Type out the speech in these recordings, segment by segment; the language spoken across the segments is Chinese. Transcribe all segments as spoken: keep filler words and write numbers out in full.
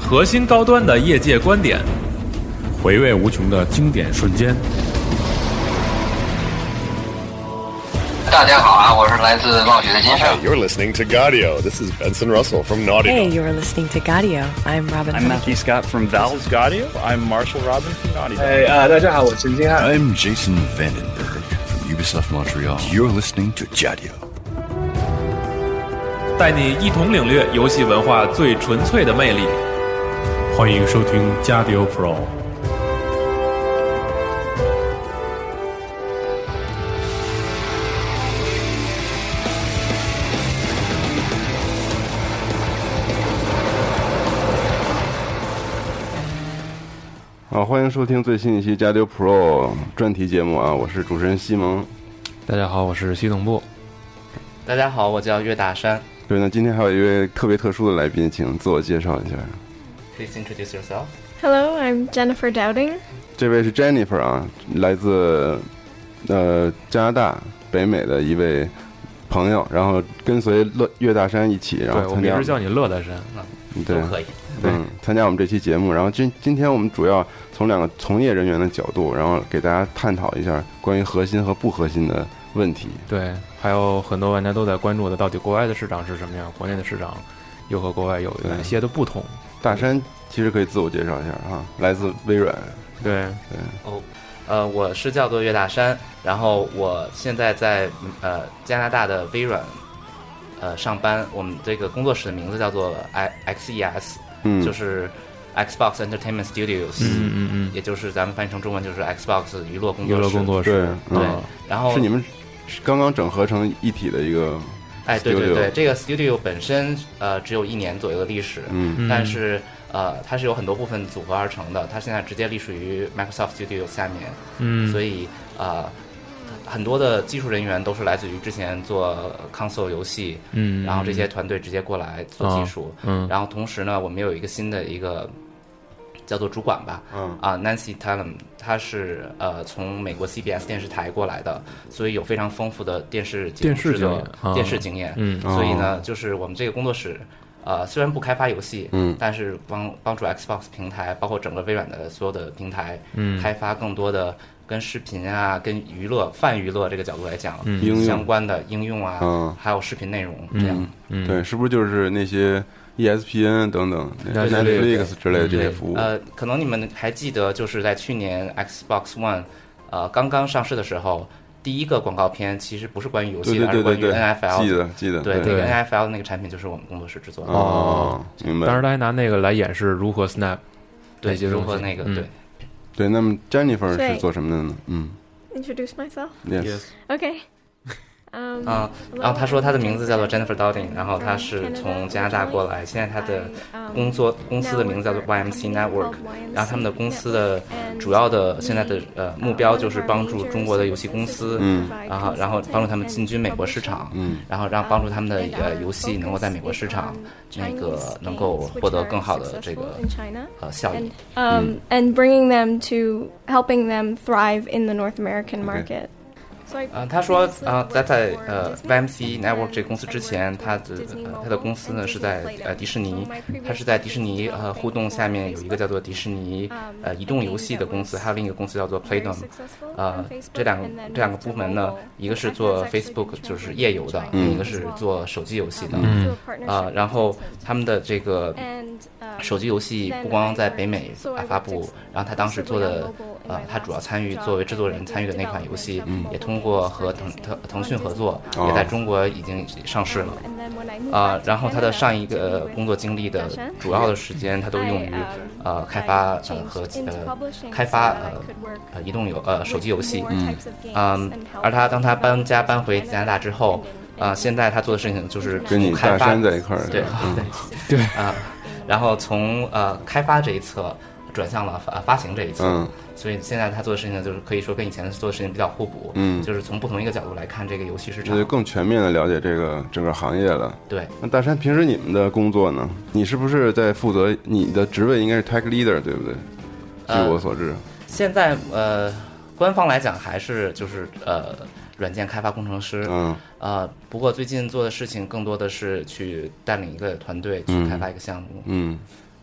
核心高端的业界观点， 回味无穷的经典瞬间。 大家好啊，我是来自冒雪的金盛。 Hey, you're listening to Gaudio. This is Benson Russell from Naughty Hey, Dog. you're listening to Gaudio. I'm Robin. I'm Matthew Scott from Valve. This is Gaudio. I'm Marshall Robin from Naughty Dog. Hey, uh, 大家好，我是陈金汉。 I'm Jason Vandenberg from Ubisoft Montreal. You're listening to Gaudio. 带你一同领略游戏文化最纯粹的魅力。 欢迎收听 Gaudio Pro。 好，欢迎收听最新一期 Gaudio Pro 专题节目啊！我是主持人西蒙。 大家好，我是系统部。 大家好，我叫岳大山。 对，那今天还有一位特别特殊的来宾，请自我介绍一下。 Please introduce yourself. Hello, I'm Jennifer Dowding. 这位是 Jennifer 啊，来自呃加拿大北美的一位朋友，然后跟随乐岳大山一起，然后对我们一直叫你乐大山啊， 对， 都可以。 嗯，参加我们这期节目，然后今今天我们主要从两个从业人员的角度，然后给大家探讨一下关于核心和不核心的问题。 对，还有很多玩家都在关注的，到底国外的市场是什么样，国内的市场又和国外有哪些的不同？ 大山其实可以自我介绍一下哈，来自微软。 对对哦，呃，我是叫做岳大山，然后我现在在呃加拿大的微软呃上班，我们这个工作室的名字叫做 X E S。 嗯， 就是 Xbox Entertainment Studios， 嗯嗯嗯， 也就是咱们翻译成中文就是 Xbox 娱乐工作室。 娱乐工作室， 对， 对、 嗯。 然后是你们刚刚整合成一体的一个 studio。 哎，对对对，这个 Studio 本身呃只有一年左右的历史， 嗯， 但是呃它是有很多部分组合而成的，它现在直接隶属于 Microsoft Studio 下面， 嗯， 所以呃。很多的技术人员都是来自于之前做 console 游戏， 嗯， 然后这些团队直接过来做技术， 哦、嗯， 然后同时呢，我们有一个新的一个叫做主管吧， 嗯啊 Nancy Tallum， 他是呃从美国 C B S 电视台过来的，所以有非常丰富的电视电视经验， 电视经验， 嗯， 所以呢，就是我们这个工作室。呃，虽然不开发游戏， 嗯， 但是帮帮助 Xbox 平台，包括整个微软的所有的平台， 嗯， 开发更多的跟视频啊、跟娱乐、泛娱乐这个角度来讲， 嗯， 相关的应用啊， 嗯， 还有视频内容这样， 嗯， 对，是不是就是那些 E S P N 等等 Netflix 之类的这些服务？ 呃，可能你们还记得，就是在去年 Xbox One， 呃，刚刚上市的时候。第一个广告片其实不是关于游戏的， 对对对对对， 而是关于 N F L 的。 记得记得。 对，这个 N F L 的那个产品就是我们工作室制作的。 哦，明白。 当时他还拿那个来演示如何 snap， 对，如何那个对。 对，那么 Jennifer 是做什么的呢？嗯。 Introduce myself. Yes. Okay. 嗯， 啊，然后他说他的名字叫做 Jennifer Dowding， 然后他是从加拿大过来，现在他的工作公司的名字叫做 Y M C Network， 然后他们的公司的主要的现在的呃目标就是帮助中国的游戏公司， 嗯， 然后然后帮助他们进军美国市场， 嗯， 然后让帮助他们的呃游戏能够在美国市场那个能够获得更好的这个呃效益。 Um, and bringing them to helping them thrive in the North American market. 呃，他说啊，在在呃 Y M C Network 这个公司之前，他的呃他的公司呢是在呃迪士尼，他是在迪士尼呃互动下面有一个叫做迪士尼呃移动游戏的公司，还有另一个公司叫做 Playdom， 呃这两个这两个部门呢，一个是做 Facebook 就是页游的，另一个是做手机游戏的， 嗯， 呃，然后他们的这个手机游戏不光在北美啊发布，然后他当时做的呃他主要参与作为制作人参与的那款游戏， 嗯， 也通。通过和腾腾腾讯合作，也在中国已经上市了。啊、呃，然后他的上一个工作经历的主要的时间，他都用于呃开发呃和呃开发呃呃移动游呃手机游戏。 嗯嗯，而他当他搬家搬回加拿大之后，啊、呃，现在他做的事情就是跟你大山在一块儿。 对嗯、 对对啊、呃，然后从呃开发这一侧转向了发发行这一侧。 嗯。 所以现在他做的事情呢，就是可以说跟以前做的事情比较互补， 嗯， 就是从不同一个角度来看这个游戏市场， 就更全面的了解这个整个行业了。 对， 那大山平时你们的工作呢？你是不是在负责？你的职位应该是 Tech Leader， 对不对？据我所知， 呃、现在呃，官方来讲还是就是呃，软件开发工程师， 嗯， 呃，不过最近做的事情更多的是去带领一个团队去开发一个项目， 嗯。嗯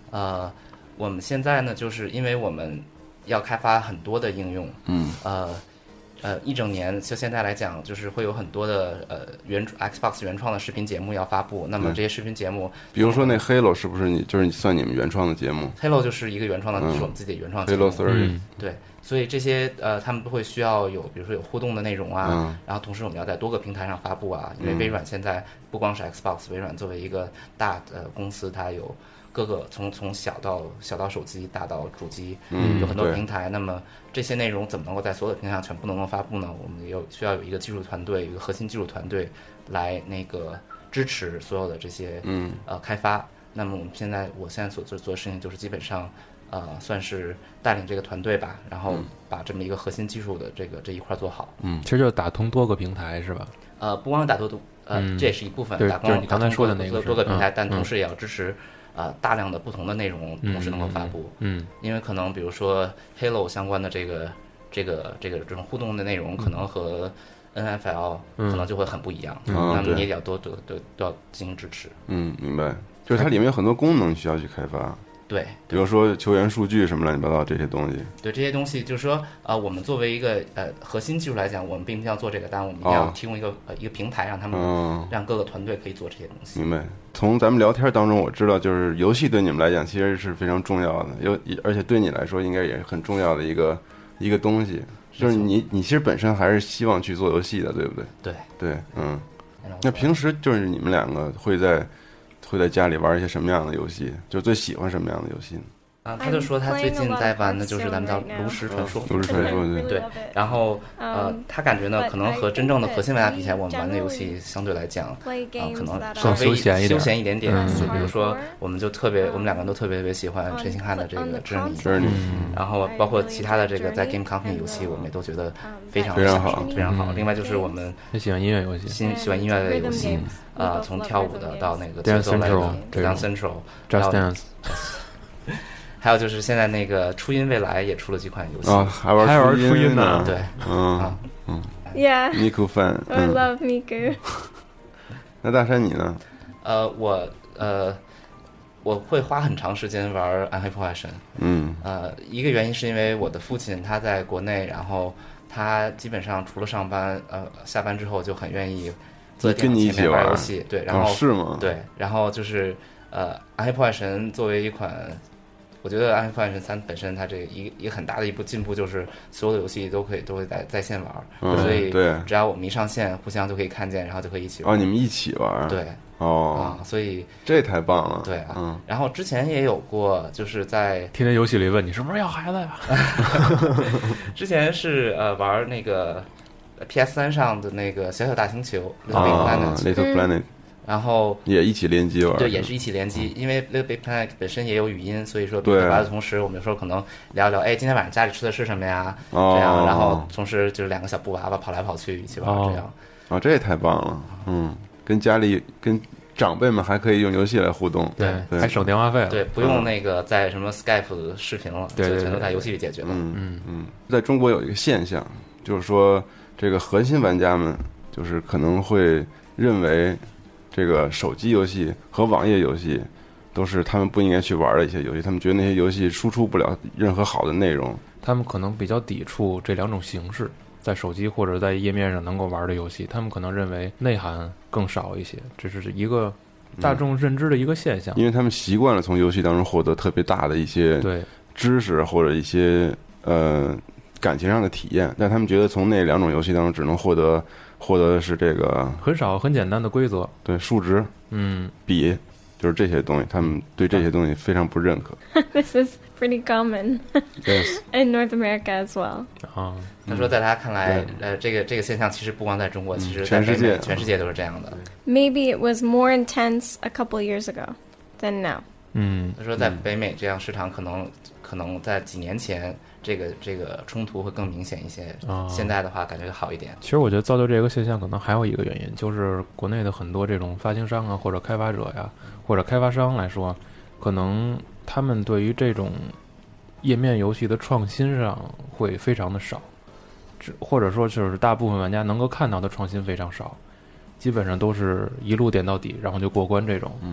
呃，我们现在呢，就是因为我们要开发很多的应用， 嗯， 呃。呃，一整年就现在来讲，就是会有很多的呃原 Xbox 原创的视频节目要发布。那么这些视频节目， 比如说那 Halo 是不是你就是算你们原创的节目 ？Halo 就是一个原创的，嗯、是我们自己的原创节目。 Halo 三十、嗯， 对，所以这些呃，他们都会需要有，比如说有互动的内容啊， 嗯、 然后同时我们要在多个平台上发布啊，因为微软现在不光是 Xbox， 微软作为一个大的公司，它有。各个从从小到小到手机，大到主机， 嗯， 有很多平台。那么这些内容怎么能够在所有的平台上全部能够发布呢？我们有需要有一个技术团队，一个核心技术团队来那个支持所有的这些嗯呃开发。那么我们现在我现在所做做的事情就是基本上呃算是带领这个团队吧，然后把这么一个核心技术的这个这一块做好。 嗯，其实就是打通多个平台是吧？ 呃，不光是打通呃、嗯，这也是一部分，打就是你刚才说的那个多个平台， 嗯、 但同时也要支持。呃，大量的不同的内容同时能够发布， 嗯，嗯因为可能比如说 Halo 相关的这个这个这个这种互动的内容，可能和 N F L 可能就会很不一样， 嗯、 那么你也要多多都都要进行支持。 嗯，明白，就是它里面有很多功能需要去开发。 对， 比如说球员数据什么乱七八糟这些东西。 对这些东西，就是说，呃，我们作为一个呃核心技术来讲，我们并不要做这个，但我们一定要提供一个、哦、呃一个平台，让他们、 嗯、 让各个团队可以做这些东西。 明白。从咱们聊天当中，我知道就是游戏对你们来讲其实是非常重要的，有而且对你来说应该也是很重要的一个一个东西。就是你你其实本身还是希望去做游戏的，对不对？ 对对，嗯。那平时就是你们两个会在会在家里玩一些什么样的游戏？就最喜欢什么样的游戏呢？ 啊，他就说他最近在玩的就是咱们叫炉石传说， 炉石传说对对。然后呃，他感觉呢，可能和真正的核心玩家比起来，我们玩的游戏相对来讲，啊、呃，可能稍微休闲一点， 休闲一点点。 嗯、 就比如说，我们就特别，我们两个人都特别特别喜欢陈星汉的这个 Journey， 然后包括其他的这个在 Game Company 游戏，我们也都觉得非常非常好， 非常好。另外就是我们喜欢音乐游戏， 新喜欢音乐类的游戏，啊、呃，从跳舞的到那个节 Dance 奏类的 Central， Dance Central，Just Dance。 还有就是现在那个初音未来也出了几款游戏啊，还玩还玩初音呢？ 对， 嗯啊嗯 ，Yeah， Miku fan， I love Miku。 那大山你呢？ 呃，我呃，我会花很长时间玩《暗黑破坏神》。 嗯， 呃，一个原因是因为我的父亲他在国内，然后他基本上除了上班，呃，下班之后就很愿意坐在电脑前面玩游戏。对，然后、 哦、是吗？ 对，然后就是呃，《暗黑破坏神》作为一款。我觉得《暗黑破坏神三》本身它这个一一个很大的一步进步就是所有的游戏都可以都会在在线玩， 嗯、 所以对， 只要我们一上线，互相就可以看见，然后就可以一起玩。 哦，你们一起玩？ 对， 哦， 啊，所以这太棒了。 对啊， 嗯。 然后之前也有过，就是在天天游戏里问你是不是要孩子呀？ 之前是呃玩那个 P S 三 上的那个小小大星球 Little Planet， Little Planet。 然后也一起联机玩， 对，也是一起联机，因为 Little Big Planet 本身也有语音，所以说玩的同时，我们有时候可能聊一聊，哎，今天晚上家里吃的是什么呀？ 哦、 这样，然后同时就是两个小布娃娃跑来跑去一起玩， 哦、 这样。 哦，这也太棒了，嗯，跟家里跟长辈们还可以用游戏来互动， 对， 对还省电话费了， 对，不用那个在什么 Skype 视频了， 对， 全都在游戏里解决了。 嗯嗯嗯，在中国有一个现象，就是说这个核心玩家们就是可能会认为。这个手机游戏和网页游戏都是他们不应该去玩的一些游戏，他们觉得那些游戏输出不了任何好的内容， 他们可能比较抵触这两种形式，在手机或者在页面上能够玩的游戏，他们可能认为内涵更少一些，这是一个大众认知的一个现象， 嗯、因为他们习惯了从游戏当中获得特别大的一些对知识或者一些呃感情上的体验，但他们觉得从那两种游戏当中只能获得。获得的是这个很少很简单的规则， 对数值， 嗯， 比就是这些东西，他们对这些东西非常不认可。 This is pretty common yes. in North America as well. 啊， 他说在他看来，呃，这个这个现象其实不光在中国，其实全世界全世界都是这样的。 Maybe it was more intense a couple years ago than now. 嗯， 他说在北美这样市场可能可能在几年前。这个这个冲突会更明显一些， 哦、 现在的话感觉好一点。 其实我觉得造就这个现象，可能还有一个原因，就是国内的很多这种发行商啊，或者开发者呀，或者开发商来说，可能他们对于这种页面游戏的创新上会非常的少，或者说就是大部分玩家能够看到的创新非常少，基本上都是一路点到底，然后就过关这种。 嗯，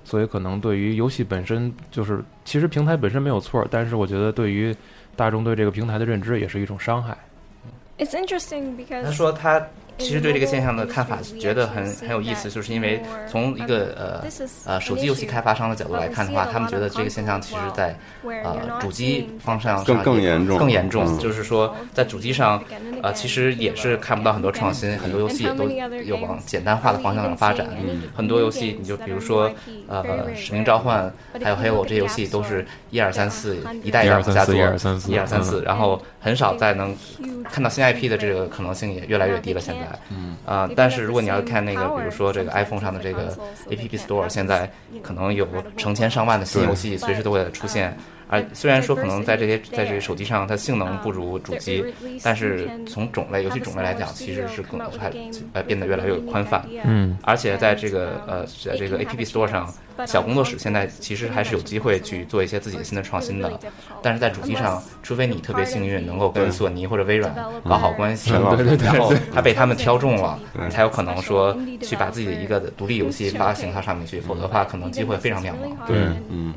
所以可能对于游戏本身，就是其实平台本身没有错，但是我觉得对于大众对这个平台的认知也是一种伤害。 It's interesting because 他说他其实对这个现象的看法觉得很很有意思，就是因为从一个呃呃手机游戏开发商的角度来看的话，他们觉得这个现象其实在呃主机方向更更严重， 更严重，嗯、就是说在主机上呃其实也是看不到很多创新，很多游戏也都有往简单化的方向上发展。嗯、很多游戏你就比如说呃使命召唤还有 Halo 这些游戏都是一二三四一代一代往下做， 一二三四一二三四，然后很少再能看到新 I P 的这个可能性也越来越低了。现在，嗯啊、呃，但是如果你要看那个，比如说这个 iPhone 上的这个 A P P Store， 现在可能有成千上万的新游戏随时都会出现。而虽然说可能在这些在这个手机上它性能不如主机，但是从种类游戏种类来讲，其实是更还呃变得越来越宽泛。 嗯， 而且在这个呃在这个 A P P Store 上，小工作室现在其实还是有机会去做一些自己的新的创新的。但是在主机上，除非你特别幸运能够跟索尼或者微软搞好关系， 对对对， 然后还被他们挑中了，你才有可能说去把自己的一个独立游戏发行到上面去，否则的话可能机会非常渺茫。 对，嗯。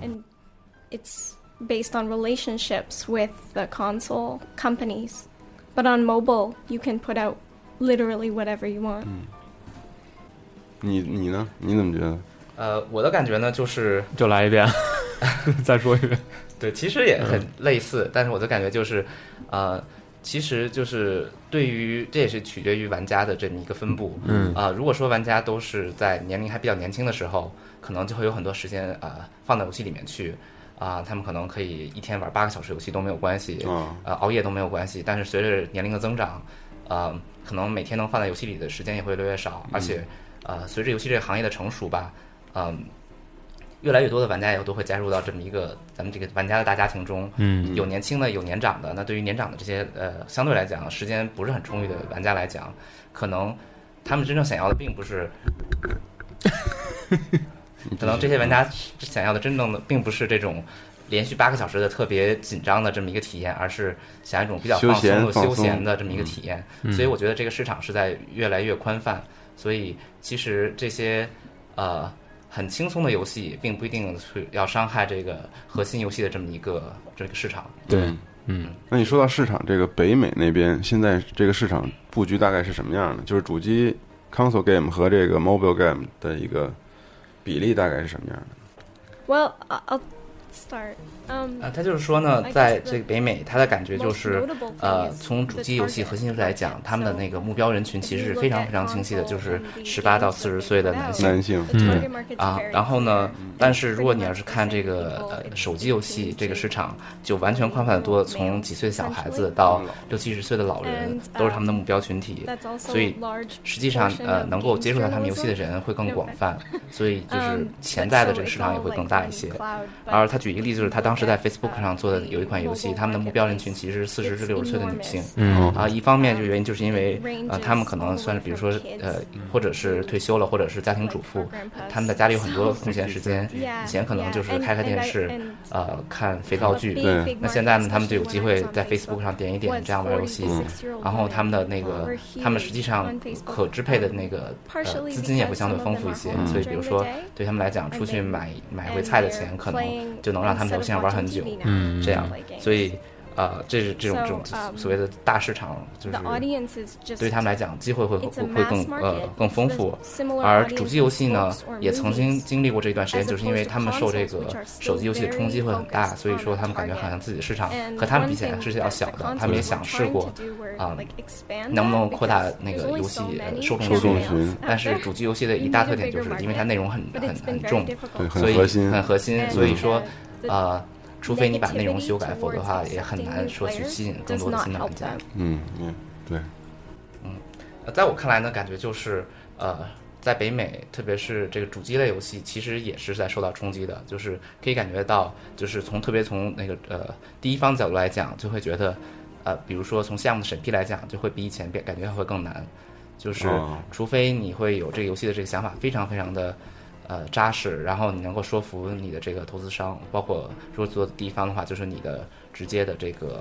Based on relationships with the console companies, but on mobile you can put out literally whatever you want. 嗯，你你呢？你怎么觉得？ 呃，我的感觉呢，就是就来一遍，再说一遍。 对，其实也很类似，嗯、但是我的感觉就是，呃，其实就是对于这也是取决于玩家的这么一个分布。 嗯啊、呃，如果说玩家都是在年龄还比较年轻的时候，可能就会有很多时间啊、呃、放到游戏里面去。啊、呃，他们可能可以一天玩八个小时游戏都没有关系， 哦、 呃，熬夜都没有关系。但是随着年龄的增长，呃，可能每天能放在游戏里的时间也会越来越少， 嗯、 而且，呃，随着游戏这个行业的成熟吧，嗯、呃，越来越多的玩家也都会加入到这么一个咱们这个玩家的大家庭中。 嗯， 有年轻的，有年长的。那对于年长的这些呃，相对来讲时间不是很充裕的玩家来讲，可能他们真正想要的并不是。可能这些玩家想要的真正的并不是这种连续八个小时的特别紧张的这么一个体验，而是想要一种比较放松的休闲的这么一个体验。 嗯、 所以我觉得这个市场是在越来越宽泛。所以其实这些呃很轻松的游戏，并不一定是要伤害这个核心游戏的这么一个这个市场。 对，嗯。 那你说到市场，这个北美那边现在这个市场布局大概是什么样的？就是主机 console game 和这个 mobile game 的一个比例大概是什么样的 ？Well, I'll start. Um, 呃，他就是说呢，在这个北美，他的感觉就是，呃，从主机游戏核心来讲，他们的那个目标人群其实是非常非常清晰的，就是十八到四十岁的男性。 男性， 嗯啊，然后呢，但是如果你要是看这个呃手机游戏这个市场，就完全宽泛的多，从几岁的小孩子到六七十岁的老人，都是他们的目标群体。所以实际上，呃，能够接触到他们游戏的人会更广泛，所以就是潜在的这个市场也会更大一些。而他举一个例子，就是他当时在 Facebook 上做的有一款游戏，他们的目标人群其实是四十至六十岁的女性。 嗯啊，一方面就原因就是因为呃，他们可能算是比如说呃，或者是退休了，或者是家庭主妇，他们在家里有很多空闲时间。以前可能就是开开电视，呃，看肥皂剧。 对。 那现在呢，他们就有机会在 Facebook 上点一点这样玩游戏。嗯。然后他们的那个，他们实际上可支配的那个呃资金也会相对丰富一些。所以比如说对他们来讲，出去买买回菜的钱，可能就能让他们在游戏上玩很久。 嗯， 这样，所以，呃，这是这种这种所谓的大市场，就是对于他们来讲，机会会会会更呃更丰富。而主机游戏呢，也曾经经历过这一段时间，就是因为他们受这个手机游戏的冲击会很大，所以说他们感觉好像自己的市场和他们比起来是比较小的。他们也想试过啊、呃，能不能扩大那个游戏呃受众群， 但是主机游戏的一大特点就是因为它内容很很很重， 对， 所以很核心， 很核心，所以说呃。除非你把内容修改，否则的话也很难说去吸引更多的新的玩家。 嗯嗯，对。 嗯，在我看来呢，感觉就是呃，在北美，特别是这个主机类游戏，其实也是在受到冲击的。就是可以感觉到，就是从特别从那个呃第一方角度来讲，就会觉得呃，比如说从项目的审批来讲，就会比以前感觉会更难。就是除非你会有这个游戏的这个想法非常非常的。呃，扎实，然后你能够说服你的这个投资商，包括如果做第一方的话，就是你的直接的这个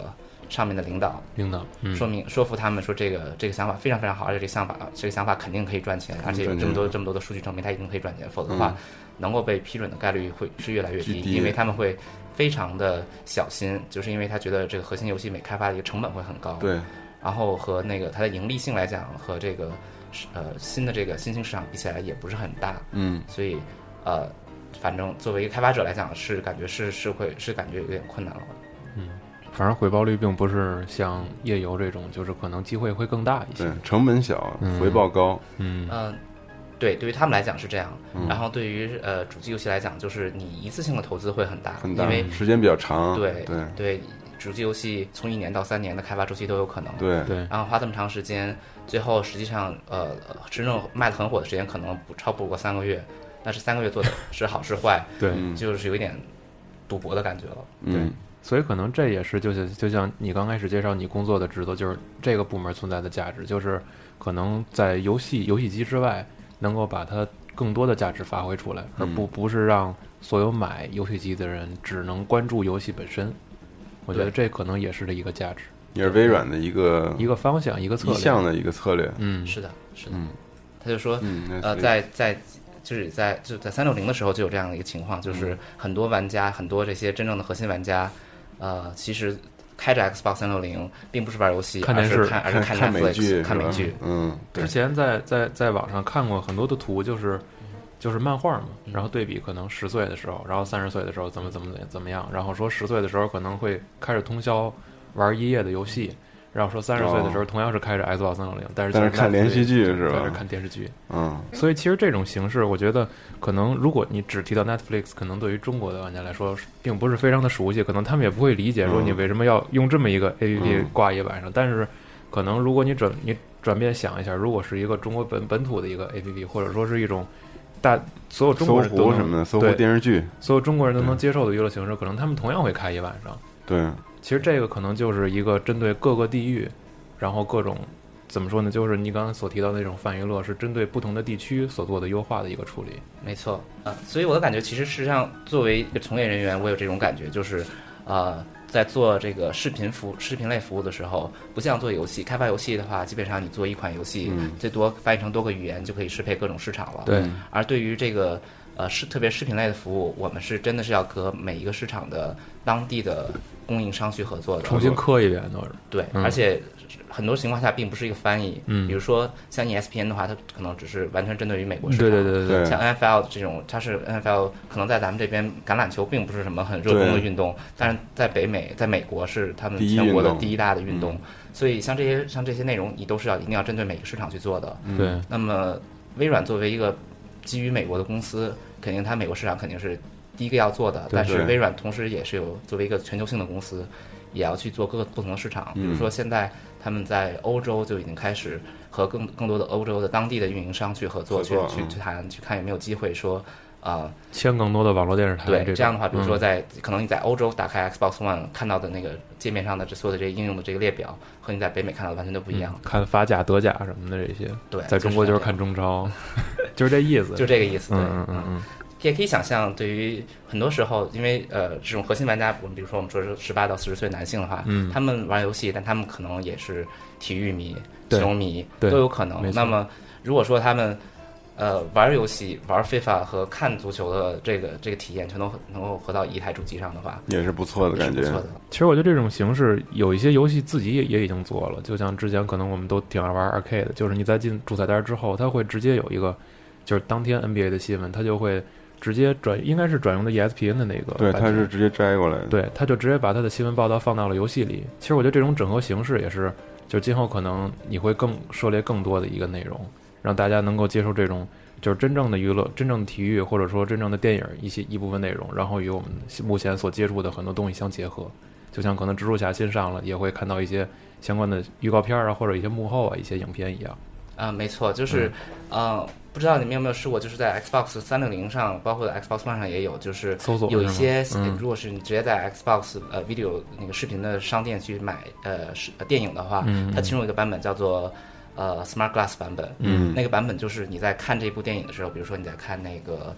上面的领导， 领导、嗯、 说明说服他们说这个这个想法非常非常好，而且这个想法这个想法肯定可以赚钱，而且有这么多这么多的数据证明它一定可以赚钱，否则的话、嗯、能够被批准的概率会是越来越低，因为他们会非常的小心，就是因为他觉得这个核心游戏每开发的一个成本会很高， 对， 然后和那个它的盈利性来讲和这个呃新的这个新兴市场比起来也不是很大， 嗯， 所以呃反正作为一个开发者来讲是感觉是是会是感觉有点困难了， 嗯。反正回报率并不是像页游这种，就是可能机会会更大一些， 对，成本小，嗯、回报高。 嗯嗯、呃，对，对于他们来讲是这样。嗯、然后对于呃主机游戏来讲，就是你一次性的投资会很大， 很大， 因为时间比较长。 对对对，主机游戏从一年到三年的开发周期都有可能。 对对， 然后花这么长时间，最后实际上呃真正卖的很火的时间可能不超不过三个月，但是三个月做的是好是坏， 对， 就是有一点赌博的感觉了。 嗯。 对， 所以可能这也是就是就像你刚开始介绍你工作的职责，就是这个部门存在的价值，就是可能在游戏游戏机之外能够把它更多的价值发挥出来，而不不是让所有买游戏机的人只能关注游戏本身。我觉得这可能也是这一个价值， 也是微软的一个一个方向，一个策略， 一项的一个策略。 嗯，是的，是的。 嗯， 他就说， 嗯、 呃，在在。就是在就在三六零的时候就有这样的一个情况，就是很多玩家，很多这些真正的核心玩家，呃，其实开着 Xbox 三六零并不是玩游戏， 看电视， 而是看而是看 Netflix 美剧，看美剧。 嗯， 之前在在在网上看过很多的图，就是就是漫画嘛，然后对比可能十岁的时候，然后三十岁的时候怎么怎么怎么样，然后说十岁的时候可能会开着通宵玩一夜的游戏。然后说三十岁的时候同样是开着 Xbox 三六零，但是但是看连续剧是吧？ 在这看电视剧， 嗯， 所以其实这种形式，我觉得可能如果你只提到 Netflix， 可能对于中国的玩家来说，并不是非常的熟悉，可能他们也不会理解说你为什么要用这么一个 A P P 挂页板上。嗯、但是可能如果你转你转变想一下，如果是一个中国本本土的一个 A P P， 或者说是一种大所有中国人都能什么的搜狐电视剧， 所有中国人都能接受的娱乐形式，可能他们同样会开页板上。 对， 其实这个可能就是一个针对各个地域。然后各种怎么说呢？就是你刚刚所提到的那种泛娱乐，是针对不同的地区所做的优化的一个处理。 没错，呃，所以我的感觉，其实实际上作为一个从业人员，我有这种感觉，就是呃，在做这个视频服视频类服务的时候，不像做游戏，开发游戏的话，基本上你做一款游戏， 嗯、 最多翻译成多个语言就可以适配各种市场了。 对。 而对于这个呃视特别视频类的服务，我们是真的是要和每一个市场的当地的供应商去合作的， 重新刻一遍都是。 对，嗯、而且。很多情况下并不是一个翻译， 嗯， 比如说像 E S P N 的话，它可能只是完全针对于美国市场， 对对对对。 像 N F L 这种，它是 N F L 可能在咱们这边橄榄球并不是什么很热衷的运动，但是在北美，在美国是他们全国的第一大的运动，嗯、所以像这些像这些内容，你都是要一定要针对每个市场去做的。 对、 嗯。那么微软作为一个基于美国的公司，肯定它美国市场肯定是第一个要做的， 对对， 但是微软同时也是有作为一个全球性的公司，也要去做各个不同的市场，比如说现在。他们在欧洲就已经开始和更更多的欧洲的当地的运营商去合作， 合作去去去谈，去看有没有机会说，啊、呃， 签更多的网络电视台。 对， 这, 这样的话，比如说在、 嗯、 可能你在欧洲打开 Xbox One 看到的那个界面上的这所有的这些应用的这个列表，和你在北美看到的完全都不一样。 嗯、看法甲、德甲什么的这些， 对， 在中国就是看中超，就是这意思， 就这个意思。对， 嗯嗯嗯。 也可以想象，对于很多时候，因为呃，这种核心玩家，我们比如说我们说是十八到四十岁男性的话， 嗯， 他们玩游戏，但他们可能也是体育迷、球迷都有可能。那么，如果说他们呃玩游戏、玩 FIFA 和看足球的这个这个体验全都能够合到一台主机上的话， 也是不错的感觉。 不错的。 其实我觉得这种形式有一些游戏自己也也已经做了，就像之前可能我们都挺爱玩 arcade 的，就是你在进主菜单之后，它会直接有一个，就是当天 N B A 的新闻，它就会。直接转应该是转用的 E S P N 的那个， 对，它是直接摘过来的， 对，他就直接把他的新闻报道放到了游戏里。其实我觉得这种整合形式也是，就今后可能你会更涉猎更多的一个内容，让大家能够接受这种就是真正的娱乐、真正的体育或者说真正的电影一些一部分内容，然后与我们目前所接触的很多东西相结合。就像可能蜘蛛侠新上了，也会看到一些相关的预告片啊，或者一些幕后啊一些影片一样。 啊、呃，没错，就是，嗯、呃，不知道你们有没有试过，就是在 Xbox 三六零上，包括 Xbox One 上也有，就是有一些， 嗯、 如果是你直接在 Xbox 呃 Video 那个视频的商店去买呃是电影的话， 嗯、 它其中有一个版本叫做呃 Smart Glass 版本， 嗯， 那个版本就是你在看这部电影的时候，比如说你在看那个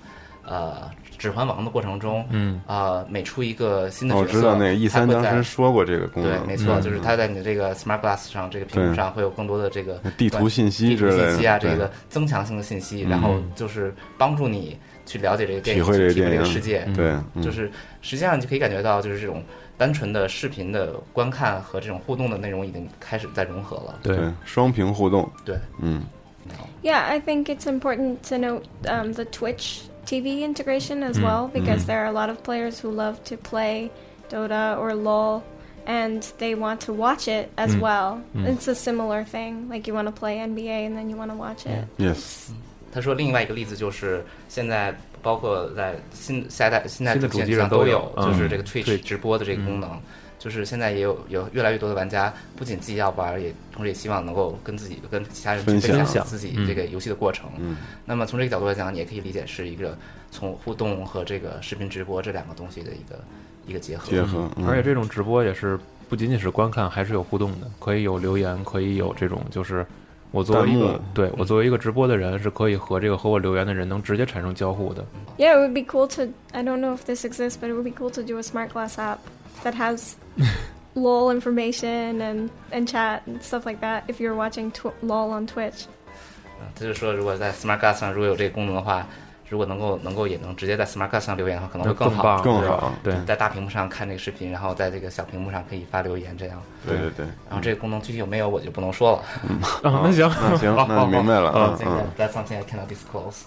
呃指环王的过程中， 嗯啊、呃，每出一个新的角色， 我知道那个 E 三当时说过这个功能， 对，没错， 嗯、 就是它在你的这个 Smart Glass 上，这个屏幕上会有更多的这个地图信息之类的， 地图信息啊，这个增强性的信息，然后就是帮助你去了解这个电影， 体会这个电影， 这个世界， 对， 嗯、就是实际上你就可以感觉到，就是这种单纯的视频的观看和这种互动的内容已经开始在融合了， 对，双屏互动， 对， 嗯。 Yeah, I think it's important to note um, the Twitch T V integration as mm. well, because mm. there are a lot of players who love to play Dota or LoL, and they want to watch it as mm. well. Mm. It's a similar thing, like you want to play N B A and then you want to watch it. Yes. 他说另外一个例子就是现在包括在新下一代新代主机上都有， 嗯、 就是这个 Twitch 直播的这个功能。嗯，就是现在也有有越来越多的玩家，不仅自己要玩，也同时也希望能够跟自己跟其他人去分享自己这个游戏的过程。 嗯， 那么从这个角度来讲，你也可以理解是一个从互动和这个视频直播这两个东西的一个一个结合。 结合， 嗯、而且这种直播也是不仅仅是观看，还是有互动的，可以有留言，可以有这种就是我作为一个对我作为一个直播的人，是可以和这个和我留言的人能直接产生交互的。 Yeah, it would be cool to. I don't know if this exists, but it would be cool to do a smart glass app that has LOL information and and chat and stuff like that. If you're watching tw- LOL on Twitch. 嗯，他就说，如果在 Smart Glass 上如果有这个功能的话，如果能够能够也能直接在 Smart Glass 上留言的话，可能会更好， 更好。 对，在大屏幕上看这个视频，然后在这个小屏幕上可以发留言，这样。 对对对。 然后这个功能具体有没有，我就不能说了。 嗯， 哦，那行， 那行，那明白了。 嗯嗯 ，That's something I cannot disclose.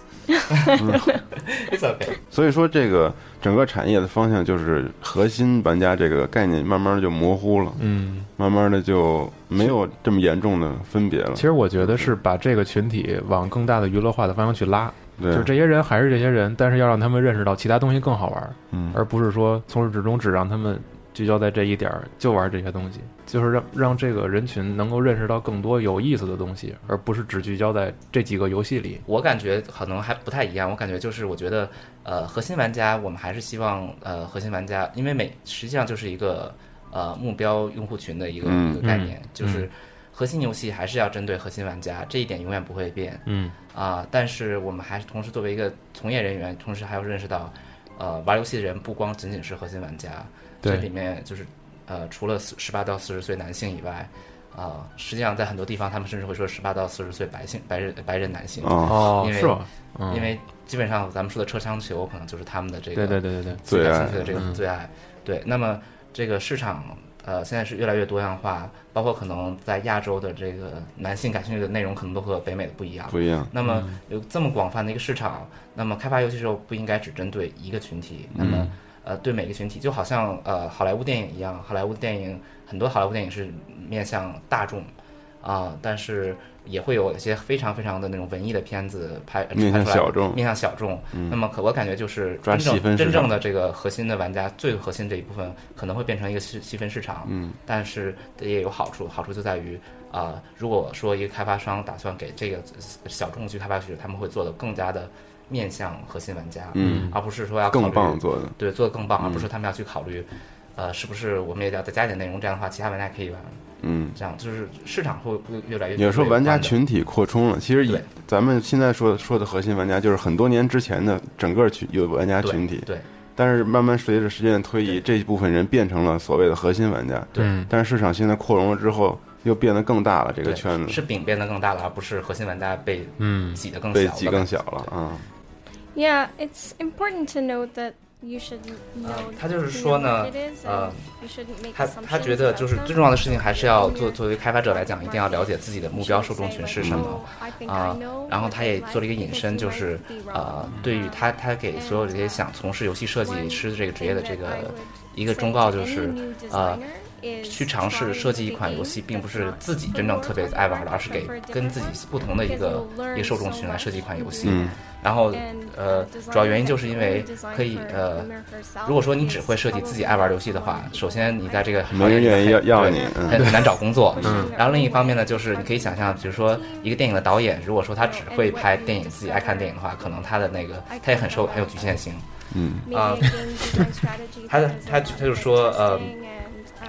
It's okay. 所以说，这个整个产业的方向就是核心玩家这个概念慢慢的就模糊了， 嗯， 慢慢的就没有这么严重的分别了。 其实我觉得是把这个群体往更大的娱乐化的方向去拉， 对， 就是这些人还是这些人，但是要让他们认识到其他东西更好玩， 嗯， 而不是说从始至终只让他们聚焦在这一点，就玩这些东西，就是让让这个人群能够认识到更多有意思的东西，而不是只聚焦在这几个游戏里。 我感觉可能还不太一样，我感觉就是我觉得呃核心玩家，我们还是希望呃核心玩家，因为每实际上就是一个呃目标用户群的一个、 嗯、 一个概念， 嗯、 就是核心游戏还是要针对核心玩家，这一点永远不会变。 嗯啊、呃，但是我们还是同时作为一个从业人员，同时还要认识到，呃玩游戏的人不光仅仅是核心玩家，这里面就是。呃，除了十八到四十岁男性以外，啊、呃，实际上在很多地方，他们甚至会说十八到四十岁白性白人白人男性哦， 因为是吧？嗯、 因为基本上咱们说的车枪球，可能就是他们的这个对对对对对最感兴趣的这个最爱。对，那么这个市场呃现在是越来越多样化，包括可能在亚洲的这个男性感兴趣的内容，可能都和北美的不一样。 不一样。 那么有这么广泛的一个市场，那么开发游戏的时候不应该只针对一个群体，那么。嗯呃，对每个群体，就好像呃好莱坞电影一样，好莱坞电影很多好莱坞电影是面向大众啊、呃，但是也会有一些非常非常的那种文艺的片子拍面向小众， 面向小众。 嗯、 那么可我感觉就是真正真正的这个核心的玩家，最核心这一部分可能会变成一个细细分市场。 嗯， 但是也有好处，好处就在于啊、呃，如果说一个开发商打算给这个小众去开发时，他们会做得更加的。面向核心玩家， 嗯， 而不是说要考虑更棒做的， 对，做得更棒， 嗯、 而不是他们要去考虑，呃，是不是我们也要再加点内容，这样的话，其他玩家可以玩， 嗯， 这样就是市场会会越来越。 也说玩家群体扩充了，其实以咱们现在说说的核心玩家，就是很多年之前的整个群有玩家群体， 对。对但是慢慢随着时间的推移，这一部分人变成了所谓的核心玩家， 对。 但是市场现在扩容了之后。又变得更大了，这个圈子是饼变得更大了，而不是核心玩家被嗯挤得更小被挤更小了啊。 Yeah, it's important to note that you should know. 他就是说呢，呃，他他觉得就是最重要的事情还是要做作为开发者来讲，一定要了解自己的目标受众群是什么啊、呃。然后他也做了一个引申，就是呃，对于他他给所有这些想从事游戏设计师这个职业的这个一个忠告，就是呃。去尝试设计一款游戏，并不是自己真正特别爱玩的，而是给跟自己不同的一个一个受众群来设计一款游戏。 嗯、 然后，呃，主要原因就是因为可以，呃，如果说你只会设计自己爱玩游戏的话，首先你在这个没人愿意要要你， 很很难找工作。 嗯。 然后另一方面呢，就是你可以想象，比如说一个电影的导演，如果说他只会拍电影，自己爱看电影的话，可能他的那个他也很受很有局限性。 嗯。 啊、呃，他他他就说，呃。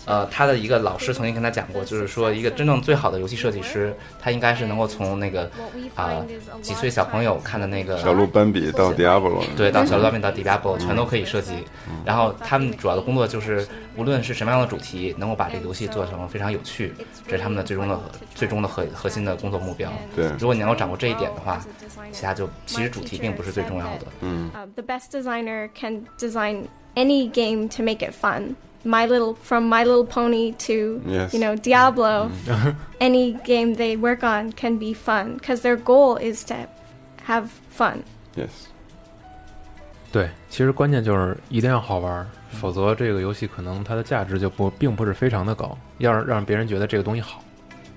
呃，他的一个老师曾经跟他讲过，就是说一个真正最好的游戏设计师，他应该是能够从那个啊、呃、几岁小朋友看的那个小鹿斑比到 Diablo， 对，到小鹿斑比到 Diablo 全都可以设计。然后他们主要的工作就是无论是什么样的主题，能够把这个游戏做成非常有趣，这是他们的最终的最终的核核心的工作目标。 对， 如果你能够掌握这一点的话，其他就其实主题并不是最重要的。 嗯。 Uh, the best designer can design any game to make it fun. My little from My Little Pony to yes. you know Diablo, any game they work on can be fun because their goal is to have fun. Yes. 对，其实关键就是一定要好玩，否则这个游戏可能它的价值就不并不是非常的高，要让让别人觉得这个东西好。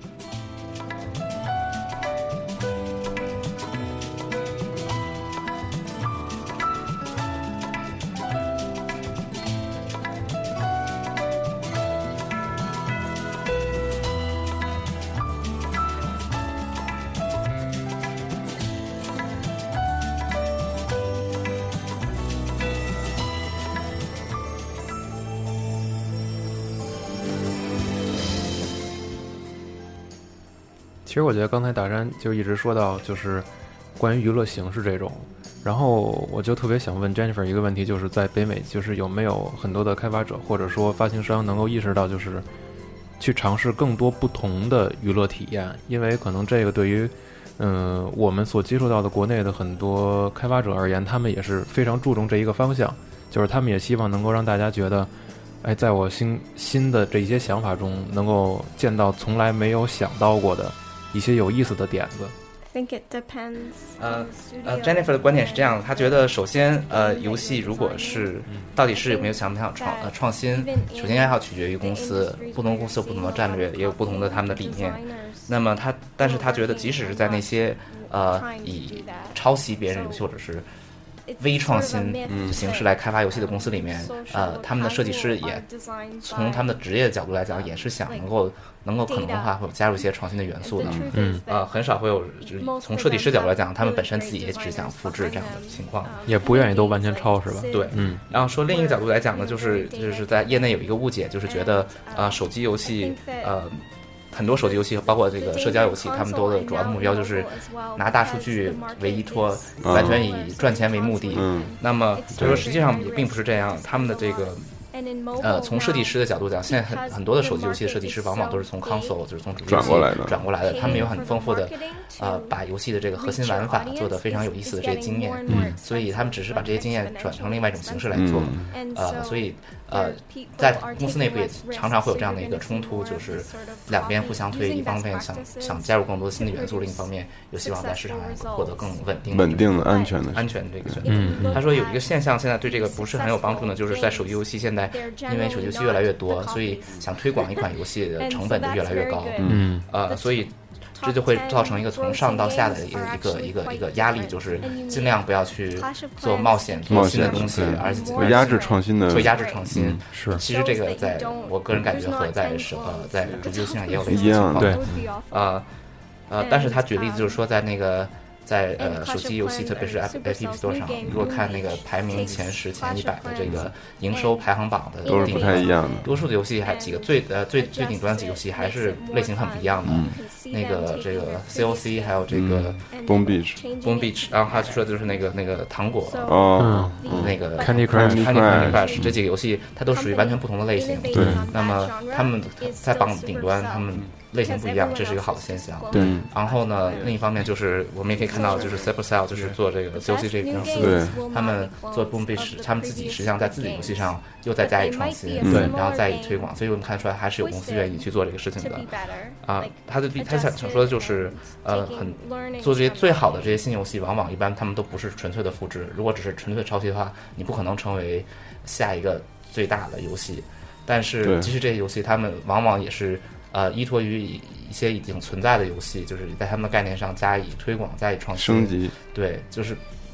其实我觉得刚才大山就一直说到就是关于娱乐形式这种，然后我就特别想问 Jennifer 一个问题，就是在北美就是有没有很多的开发者或者说发行商能够意识到就是去尝试更多不同的娱乐体验，因为可能这个对于嗯、呃、我们所接触到的国内的很多开发者而言，他们也是非常注重这一个方向，就是他们也希望能够让大家觉得哎，在我新新的这一些想法中能够见到从来没有想到过的一些有意思的点子。 I think it depends. 呃呃 ，Jennifer 的观点是这样的，她觉得首先呃，游戏如果是到底是有没有想不想创呃创新，首先要取决于公司，不同公司有不同的战略，也有不同的他们的理念。那么他，但是他觉得即使是在那些呃以抄袭别人游戏或者是微创新形式来开发游戏的公司里面，呃，他们的设计师也从他们的职业的角度来讲，也是想能够能够可能的话，会加入一些创新的元素的。嗯，呃，很少会有，就是从设计师角度来讲，他们本身自己也只想复制这样的情况， 也不愿意都完全抄，是吧？ 对，嗯。然后说另一个角度来讲呢，就是就是在业内有一个误解，就是觉得呃，手机游戏呃。很多手机游戏包括这个社交游戏，他们都的主要的目标就是拿大数据为依托，完全以赚钱为目的。嗯，那么就说实际上也并不是这样，他们的这个呃，从设计师的角度讲，现在很很多的手机游戏的设计师往往都是从 console， 就是从主机转过来的， 转过来的。他们有很丰富的呃，把游戏的这个核心玩法做得非常有意思的这些经验。嗯，所以他们只是把这些经验转成另外一种形式来做。嗯、呃，所以呃，在公司内部也常常会有这样的一个冲突，就是两边互相推，一方面想想加入更多的新的元素，另一方面又希望在市场上获得更稳定、 稳定的、安全的、 安全的这个选择。嗯，他说有一个现象，现在对这个不是很有帮助呢，就是在手机游戏现在。因为手机游戏越来越多，所以想推广一款游戏的成本就越来越高。嗯，呃，所以这就会造成一个从上到下的一个一个一个一个压力，就是尽量不要去做冒险、做新的东西，而且会压制创新的， 会压制创新。 嗯、 是， 其实这个在我个人感觉和在是呃在主机游戏上也有类似的情况。 对， 呃呃，但是他举例子就是说，在那个。在呃手机游戏，特别是 App Store 上，如果看那个排名前十、前一百的这个营收排行榜的， 都是不太一样的。 多数的游戏还几个最呃最最顶端的几个游戏还是类型很不一样的。嗯、那个这个 C O C 还有这个 Boom Beach，Boom Beach， 然后他说的就是那个那个糖果哦， 那个 Candy Crush，Candy Crush 这几个游戏，它都属于完全不同的类型。 对， 那么他们在榜顶端，他们。类型不一样，这是一个好的现象。 对， 然后呢，另一方面就是我们也可以看到，就是 Supercell 就是做这个 C O C 这个公司，他们做 Boom Beach， 他们自己实际上在自己游戏上又再加以创新， 对， 然后再以推广，所以我们看出来还是有公司愿意去做这个事情的。啊，他的他想想说的就是，呃，很做这些最好的这些新游戏，往往一般他们都不是纯粹的复制，如果只是纯粹抄袭的话，你不可能成为下一个最大的游戏。但是其实这些游戏，他们往往也是。呃，依托于一些已经存在的游戏，就是在他们的概念上加以推广、加以创新、 升级。 对，就是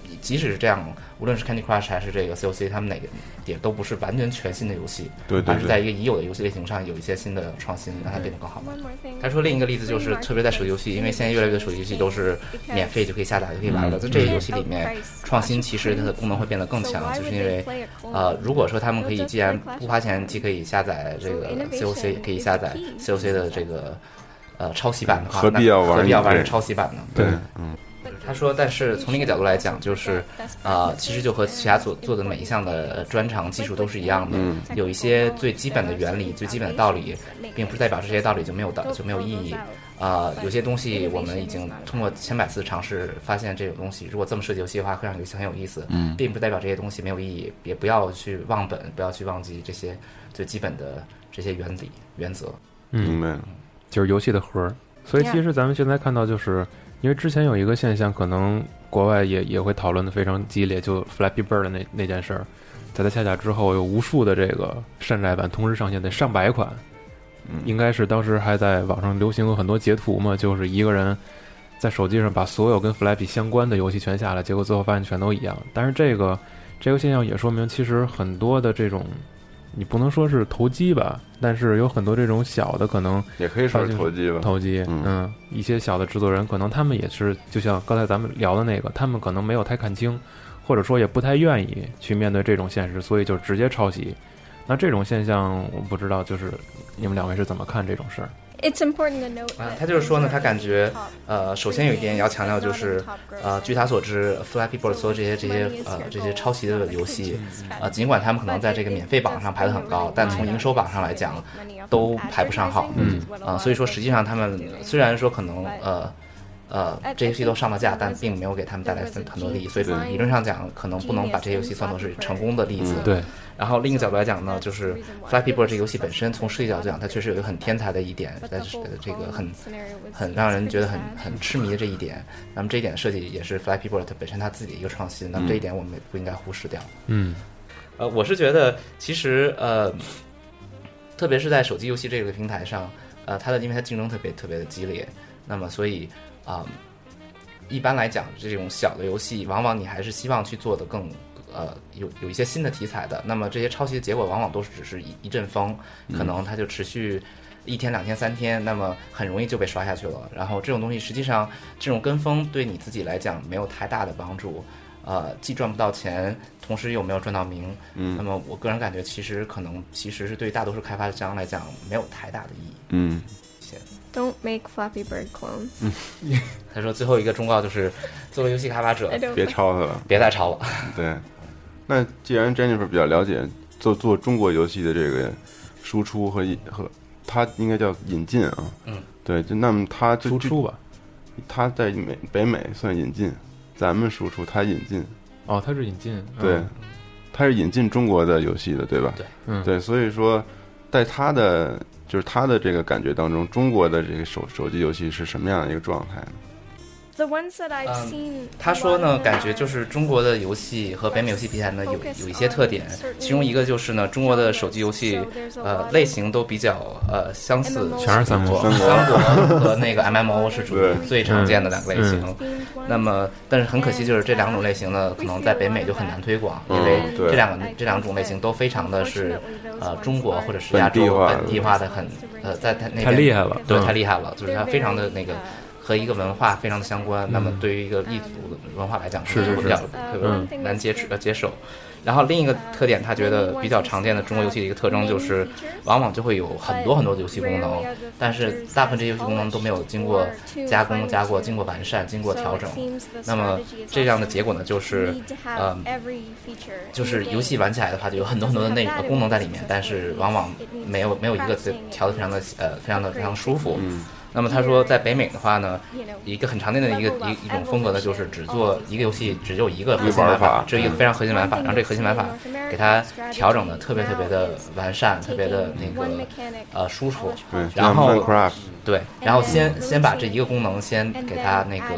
即使是这样，无论是 Candy Crush 还是这个 C O C， 他们哪个也都不是完全全新的游戏， 对对对， 而是在一个已有的游戏类型上有一些新的创新，让它变得更好。他说另一个例子就是，特别在手机游戏，因为现在越来越多手机游戏都是免费就可以下载就可以玩了，在这些游戏里面，创新其实它的功能会变得更强，就是因为呃，如果说他们可以既然不花钱，既可以下载这个 C O C， 也可以下载 C O C 的这个呃抄袭版的话， 何必要玩何必要玩抄袭版呢？ 对，嗯。 他说，但是从另一个角度来讲，就是呃，其实就和其他所做的每一项的专长技术都是一样的， 嗯、 有一些最基本的原理、最基本的道理，并不是代表这些道理就没有道就没有意义。啊、呃，有些东西我们已经通过千百次尝试发现，这种东西如果这么设计游戏的话，会让游戏很有意思。 嗯， 并不代表这些东西没有意义，也不要去忘本，不要去忘记这些最基本的这些原理原则。 嗯， 明白了， 就是游戏的核。所以其实咱们现在看到就是。因为之前有一个现象，可能国外也也会讨论的非常激烈，就 Flappy Bird 的那那件事儿，在它下架之后，有无数的这个山寨版同时上线，得上百款，嗯，应该是当时还在网上流行过很多截图嘛，就是一个人在手机上把所有跟 Flappy 相关的游戏全下来，结果最后发现全都一样。但是这个这个现象也说明，其实很多的这种。你不能说是投机吧，但是有很多这种小的可能也可以说是投机吧。 投机，嗯, 嗯，一些小的制作人可能他们也是，就像刚才咱们聊的那个，他们可能没有太看清，或者说也不太愿意去面对这种现实，所以就直接抄袭。那这种现象，我不知道，就是你们两位是怎么看这种事儿？ It's important to note 啊，他就是说呢，他感觉，呃，首先有一点要强调就是，呃，据他所知 ，Flappy Bird 所有这些这些呃这些抄袭的游戏，呃，尽管他们可能在这个免费榜上排得很高，但从营收榜上来讲，都排不上号。嗯，啊、呃，所以说实际上他们虽然说可能呃。呃，这些游戏都上了架，但并没有给他们带来很很多利益，所以理论上讲，可能不能把这些游戏算作是成功的例子。 嗯、对。 然后另一个角度来讲呢，就是 Flappy Bird 这个游戏本身，从设计角度讲，它确实有一个很天才的一点，在这个很很让人觉得很很痴迷的这一点。那么这一点设计也是 Flappy Bird 它本身它自己的一个创新，那么这一点我们也不应该忽视掉。 嗯。 呃，我是觉得其实呃，特别是在手机游戏这个平台上，呃，它的因为它竞争特别特别的激烈，那么所以。啊、嗯，一般来讲，这种小的游戏，往往你还是希望去做的更，呃，有有一些新的题材的。那么这些抄袭的结果，往往都是只是一一阵风，可能它就持续一天、两天、三天，那么很容易就被刷下去了。然后这种东西，实际上这种跟风对你自己来讲没有太大的帮助，呃，既赚不到钱，同时又没有赚到名。 嗯， 那么我个人感觉，其实可能其实是对大多数开发商来讲没有太大的意义。 嗯。 Don't make Flappy Bird clones。 嗯， 他说最后一个忠告就是，作为游戏开发者， 别抄它了， 别再抄了。 对，那既然 Jennifer 比较了解做做中国游戏的这个输出和和，他应该叫引进啊。 嗯， 对，就那么他就输出吧， 他在美北美算引进，咱们输出，他引进。 哦，他是引进。 对， 嗯、 他是引进中国的游戏的，对吧？ 对， 嗯， 对，所以说在他的。就是他的这个感觉当中，中国的这个手手机游戏是什么样的一个状态呢？ The ones that I've seen， 嗯、他说呢，感觉就是中国的游戏和北美游戏比起来呢，有有一些特点，其中一个就是呢，中国的手机游戏呃类型都比较呃相似， 全是三国， 三国和那个 M M O 是属于最常见的两个类型。 嗯、 那么，但是很可惜，就是这两种类型呢，可能在北美就很难推广，因为这两个这两种类型都非常的是呃中国或者是亚洲本地化的很呃在它那边太厉害了， 对， 嗯、 太厉害了，就是它非常的那个。和一个文化非常的相关，嗯、那么对于一个异族文化来讲， 是是比较特别难接触呃接受。然后另一个特点，他觉得比较常见的中国游戏的一个特征就是，往往就会有很多很多的游戏功能，但是大部分这些游戏功能都没有经过加工、加过、经过完善、经过调整。那么这样的结果呢，就是，呃，就是游戏玩起来的话，就有很多很多的内容功能在里面，但是往往没有没有一个调得非常的呃非常的非常舒服。 嗯。 那么他说，在北美的话呢，一个很常见的一个一一种风格呢，就是只做一个游戏，只有一个核心玩法，只有一个非常核心玩法，然后这个核心玩法给它调整的特别特别的完善，特别的那个呃舒服。 对， 然后 Minecraft。 对，然后先先把这一个功能先给它那个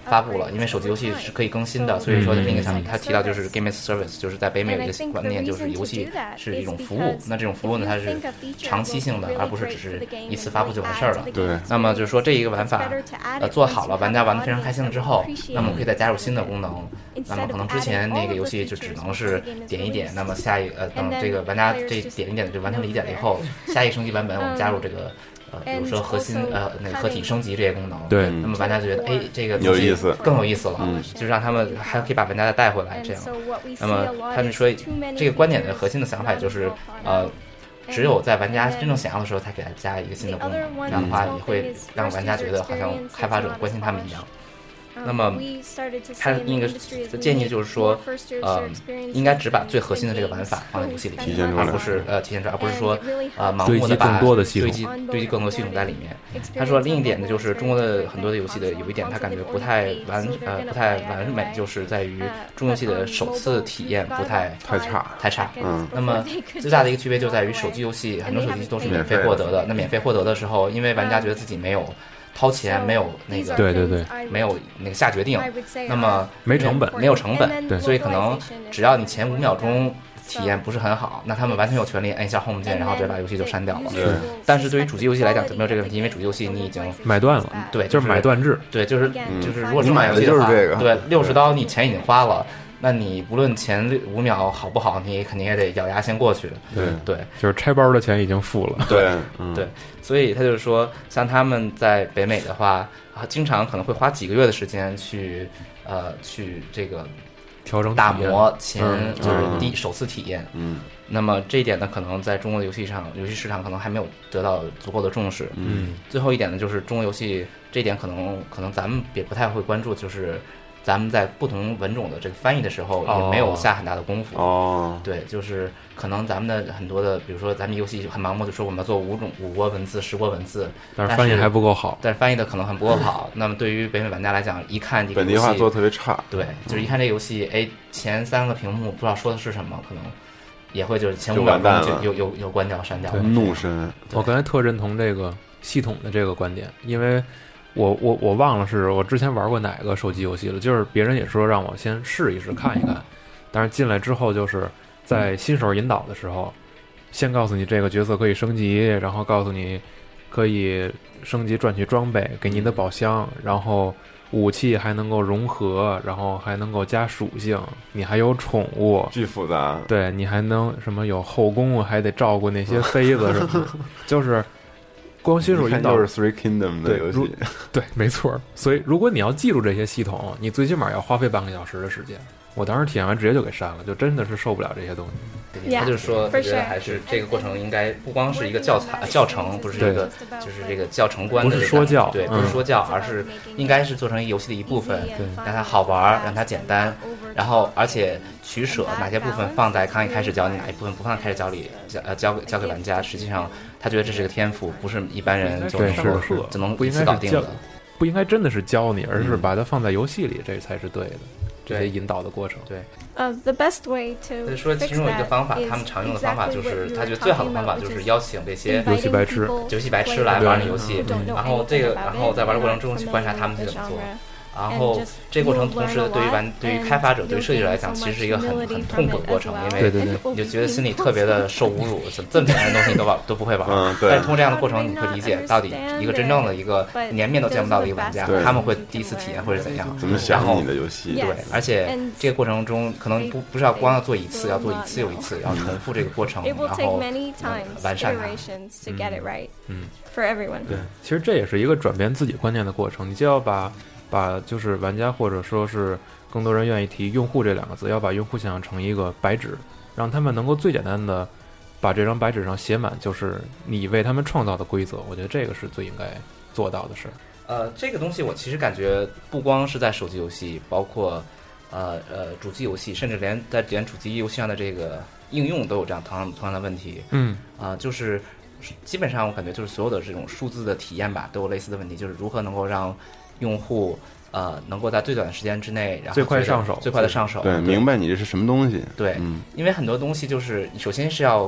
发布了，因为手机游戏是可以更新的，所以说另一个想他提到就是 game as service， 就是在北美有一个观念，就是游戏是一种服务，那这种服务呢它是长期性的，而不是只是一次发布就完事儿了。 对， 那么就是说这一个玩法呃做好了，玩家玩得非常开心了之后，那么可以再加入新的功能，那么可能之前那个游戏就只能是点一点，那么下一呃等这个玩家这点一点就完全理解了以后，下一个升级版本我们加入这个呃，比如说核心呃那个合体升级这些功能， 对， 那么玩家就觉得哎这个有意思， 更有意思了，嗯，就让他们还可以把玩家再带回来这样。那么他们说这个观点的核心的想法就是呃。只有在玩家真正想要的时候，才给他加一个新的功能，这样的话也会让玩家觉得好像开发者关心他们一样。那么他那个建议就是说，呃，应该只把最核心的这个玩法放在游戏里面，而不是呃体现出来，而不是说呃盲目的把堆积堆积更多系统在里面。他说另一点呢，就是中国的很多的游戏的有一点他感觉不太完呃不太完美，就是在于中游戏的首次体验不太太差太差。 嗯， 那么最大的一个区别就在于手机游戏很多手机都是免费获得的，那免费获得的时候，因为玩家觉得自己没有掏钱，没有那个对对对， 没有那个下决定，那么没成本， 没有成本，对，所以可能只要你前五秒钟体验不是很好，那他们完全有权利按一下 home 键，然后直接把游戏就删掉了。 对， 但是对于主机游戏来讲就没有这个问题，因为主机游戏你已经买断了， 对， 就是买断制， 对，就是就是如果你买的就是这个， 对，六十刀你钱已经花了。那你不论前五秒好不好，你肯定也得咬牙先过去。 对对， 就是拆包的钱已经付了。 对、 嗯、对，所以他就是说，像他们在北美的话，啊，经常可能会花几个月的时间去呃去这个调整打磨前、 嗯、 就是第、嗯、首次体验。 嗯， 那么这一点呢，可能在中国的游戏上，游戏市场可能还没有得到足够的重视。 嗯， 最后一点呢，就是中国游戏这一点可能可能咱们也不太会关注，就是咱们在不同文种的这个翻译的时候也没有下很大的功夫。 哦， 对，就是可能咱们的很多的，比如说咱们游戏很盲目的说我们要做五种五国文字、十国文字， 但是翻译还不够好， 但是翻译的可能很不够好。那么对于北美玩家来讲，一看这个本地化做的特别差， 对，就是一看这个游戏，哎，前三个屏幕不知道说的是什么，可能也会就是前五秒钟就有有有关掉、删掉。 怒深， 我刚才特认同这个系统的这个观点，因为我我我忘了是我之前玩过哪个手机游戏了，就是别人也说让我先试一试看一看，但是进来之后就是在新手引导的时候，先告诉你这个角色可以升级，然后告诉你可以升级赚取装备，给你的宝箱，然后武器还能够融合，然后还能够加属性，你还有宠物， 巨复杂。 对，你还能什么有后宫，还得照顾那些妃子什么的，就是光新手引导就是 Three Kingdom 的游戏， 对，没错。所以如果你要记住这些系统，你最起码要花费半个小时的时间。我当时体验完直接就给删了，就真的是受不了这些东西。 他就说，他觉得还是这个过程应该不光是一个教材教程，不是一个就是这个教程观的、这个， 不是说教， 对，不是说教，嗯、而是应该是做成游戏的一部分，让它好玩，让它简单，然后而且取舍哪些部分放在刚一开始教你，哪一部分不放在开始教里，教呃教给教给玩家。实际上，他觉得这是个天赋，不是一般人就能就能一次搞定的。 不应该真的是教你，而是把它放在游戏里，这才是对的。这些引导的过程， 对。 呃、uh, ，the best way to 就是说，其中有一个方法，他们常用的方法就是，他觉得最好的方法就是邀请这些游戏白痴、 游戏白痴来玩这游戏，然后这个，然后在玩的过程中去观察他们是怎么做。然后这个过程同时对于玩对于开发者对于设计者来讲其实是一个很很痛苦的过程，因为你就觉得心里特别的受侮辱，这么简单的东西你都玩都不会玩， 嗯，对。 但是通过这样的过程你会理解到底一个真正的一个连面都见不到的一个玩家他们会第一次体验会是怎样， 怎么想你的游戏， 对，而且这个过程中可能不不是要光要做一次，要做一次又一次，要重复这个过程，然后、嗯、完善它， 嗯 for everyone。 对，其实这也是一个转变自己观念的过程，你就要把把就是玩家或者说是更多人愿意提用户这两个字，要把用户想象成一个白纸，让他们能够最简单的把这张白纸上写满就是你为他们创造的规则，我觉得这个是最应该做到的事。 呃，这个东西我其实感觉不光是在手机游戏，包括呃呃主机游戏，甚至连在连主机游戏上的这个应用都有这样同样同样的问题。 嗯， 啊、呃，就是基本上我感觉就是所有的这种数字的体验吧，都有类似的问题，就是如何能够让用户呃能够在最短的时间之内，然后最快上手， 最快的上手， 对，明白你这是什么东西。 对，嗯，因为很多东西就是首先是要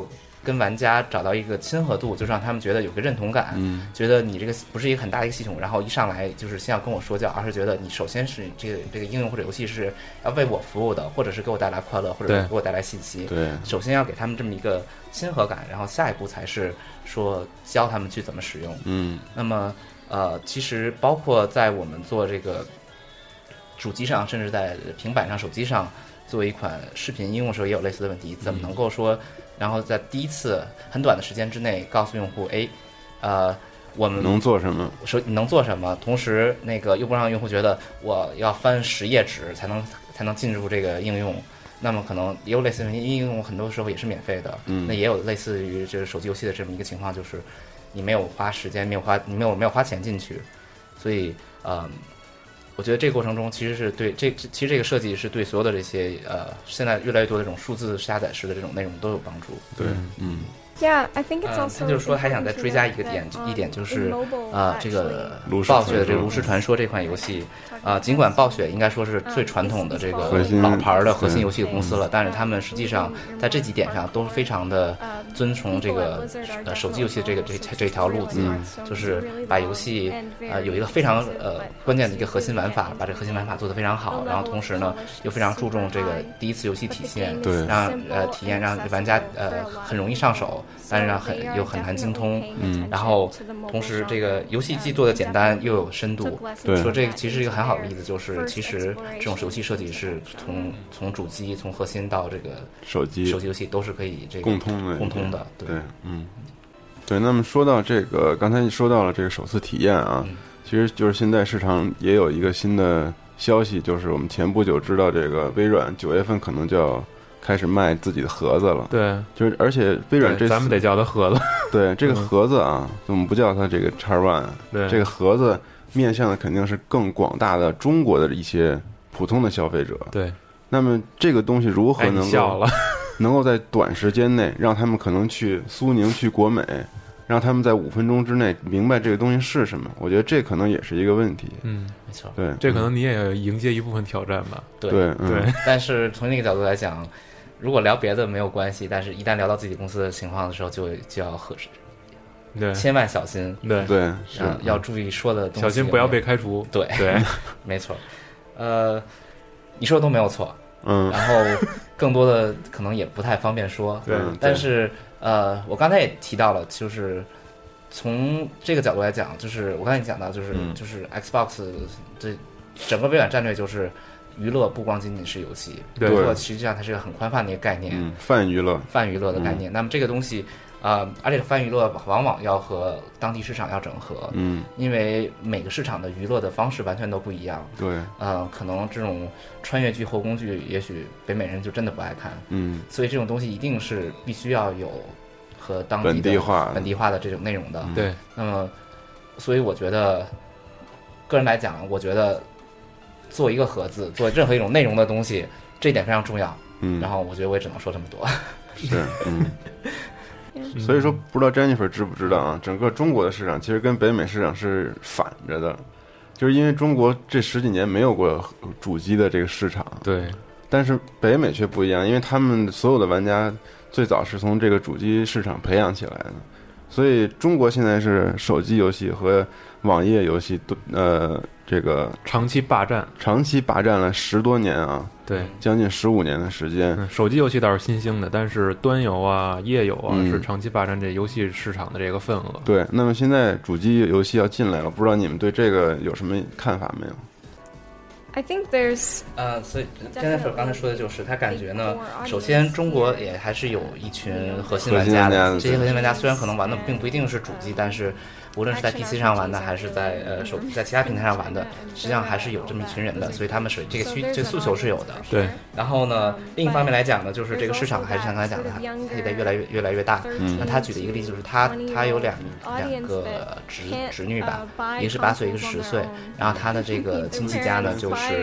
跟玩家找到一个亲和度，就让他们觉得有个认同感， 嗯， 觉得你这个不是一个很大的一个系统，然后一上来就是先要跟我说教，而是觉得你首先是这个这个应用或者游戏是要为我服务的，或者是给我带来快乐，或者给我带来信息。 对， 首先要给他们这么一个亲和感，然后下一步才是说教他们去怎么使用。 嗯， 那么呃，其实包括在我们做这个主机上，甚至在平板上、手机上做一款视频应用的时候，也有类似的问题，怎么能够说？然后在第一次很短的时间之内告诉用户，哎，呃，我们能做什么？ 说你能做什么？同时，那个又不让用户觉得我要翻十页纸才能才能进入这个应用。那么可能也有类似于应用，很多时候也是免费的。 嗯， 那也有类似于这个手机游戏的这么一个情况，就是你没有花时间，没有花你没有没有花钱进去，所以呃。我觉得这个过程中其实是对这其实这个设计是对所有的这些呃现在越来越多的这种数字下载式的这种内容都有帮助。 对，嗯。 Yeah, I think it's also. 他就是说还想再追加一个点，一点就是啊，这个暴雪的这个炉石传说这款游戏啊，尽管暴雪应该说是最传统的这个老牌的核心游戏的公司了，但是他们实际上在这几点上都非常的遵从这个呃手机游戏的这个这这条路子，就是把游戏呃有一个非常呃关键的一个核心玩法，把这个核心玩法做得非常好，然后同时呢又非常注重这个第一次游戏体验， 对， 让呃体验让玩家呃很容易上手。但是很又很难精通， 嗯， 然后同时这个游戏既做的简单又有深度， 对， 说这个其实是一个很好的例子，就是其实这种游戏设计是从从主机从核心到这个手机手机游戏都是可以这个共通的共通的， 对，对嗯，对。那么说到这个，刚才说到了这个首次体验啊，嗯、其实就是现在市场也有一个新的消息，就是我们前不久知道这个微软九月份可能就要开始卖自己的盒子了， 对， 就是而且微软这咱们得叫它盒子， 对，这个盒子啊，我们不叫它这个 X One， 对， 这个盒子面向的肯定是更广大的中国的一些普通的消费者， 对。 那么这个东西如何能够能够在短时间内让他们可能去苏宁、去国美，让他们在五分钟之内明白这个东西是什么？我觉得这可能也是一个问题。 嗯，没错， 对， 这可能你也要迎接一部分挑战吧。 对对对、 嗯， 但是从那个角度来讲。如果聊别的没有关系，但是一旦聊到自己公司的情况的时候，就就要合适， 对， 千万小心， 对对， 是要注意说的东西， 小心不要被开除， 对对， 没错，呃，你说的都没有错， 嗯， 然后更多的可能也不太方便说， 对， 但是呃，我刚才也提到了，就是从这个角度来讲，就是我刚才也讲到，就是、嗯、就是 Xbox 这整个微软战略就是。娱乐不光仅仅是游戏，娱乐实际上它是一个很宽泛的一个概念， 嗯、泛娱乐、 泛娱乐的概念。嗯、那么这个东西，呃，而且泛娱乐往往要和当地市场要整合， 嗯， 因为每个市场的娱乐的方式完全都不一样， 对， 呃，可能这种穿越剧、后宫剧，也许北美人就真的不爱看， 嗯， 所以这种东西一定是必须要有和当地的本地化、 本地化的这种内容的， 对。 那么，所以我觉得，个人来讲，我觉得。做一个盒子，做任何一种内容的东西，这一点非常重要。 嗯， 然后我觉得我也只能说这么多。 是，嗯。所以说，不知道 Jennifer 知不知道啊？整个中国的市场其实跟北美市场是反着的，就是因为中国这十几年没有过主机的这个市场， 对。 但是北美却不一样，因为他们所有的玩家最早是从这个主机市场培养起来的，所以中国现在是手机游戏和网页游戏都呃。这个长期霸占， 长期霸占了十多年啊， 对， 将近十五年的时间、 嗯。手机游戏倒是新兴的，但是端游啊、页游啊、嗯、是长期霸占这游戏市场的这个份额。 对，那么现在主机游戏要进来了，不知道你们对这个有什么看法没有 ？I think there's 呃，所以 Jennifer 刚才说的就是，他感觉呢，首先中国也还是有一群核心玩家的，这些核心玩家虽然可能玩的并不一定是主机，但是。无论是在 P C 上玩的，还是在呃手在其他平台上玩的，实际上还是有这么一群人的，所以他们是这个需这个诉求是有的。 对。 然后呢，另一方面来讲呢，就是这个市场还是像刚才讲的，它它也在越来越越来越大。 嗯。 那他举的一个例子就是他他有两两个侄侄女吧，一个是八岁，一个是十岁。然后他的这个亲戚家呢，就是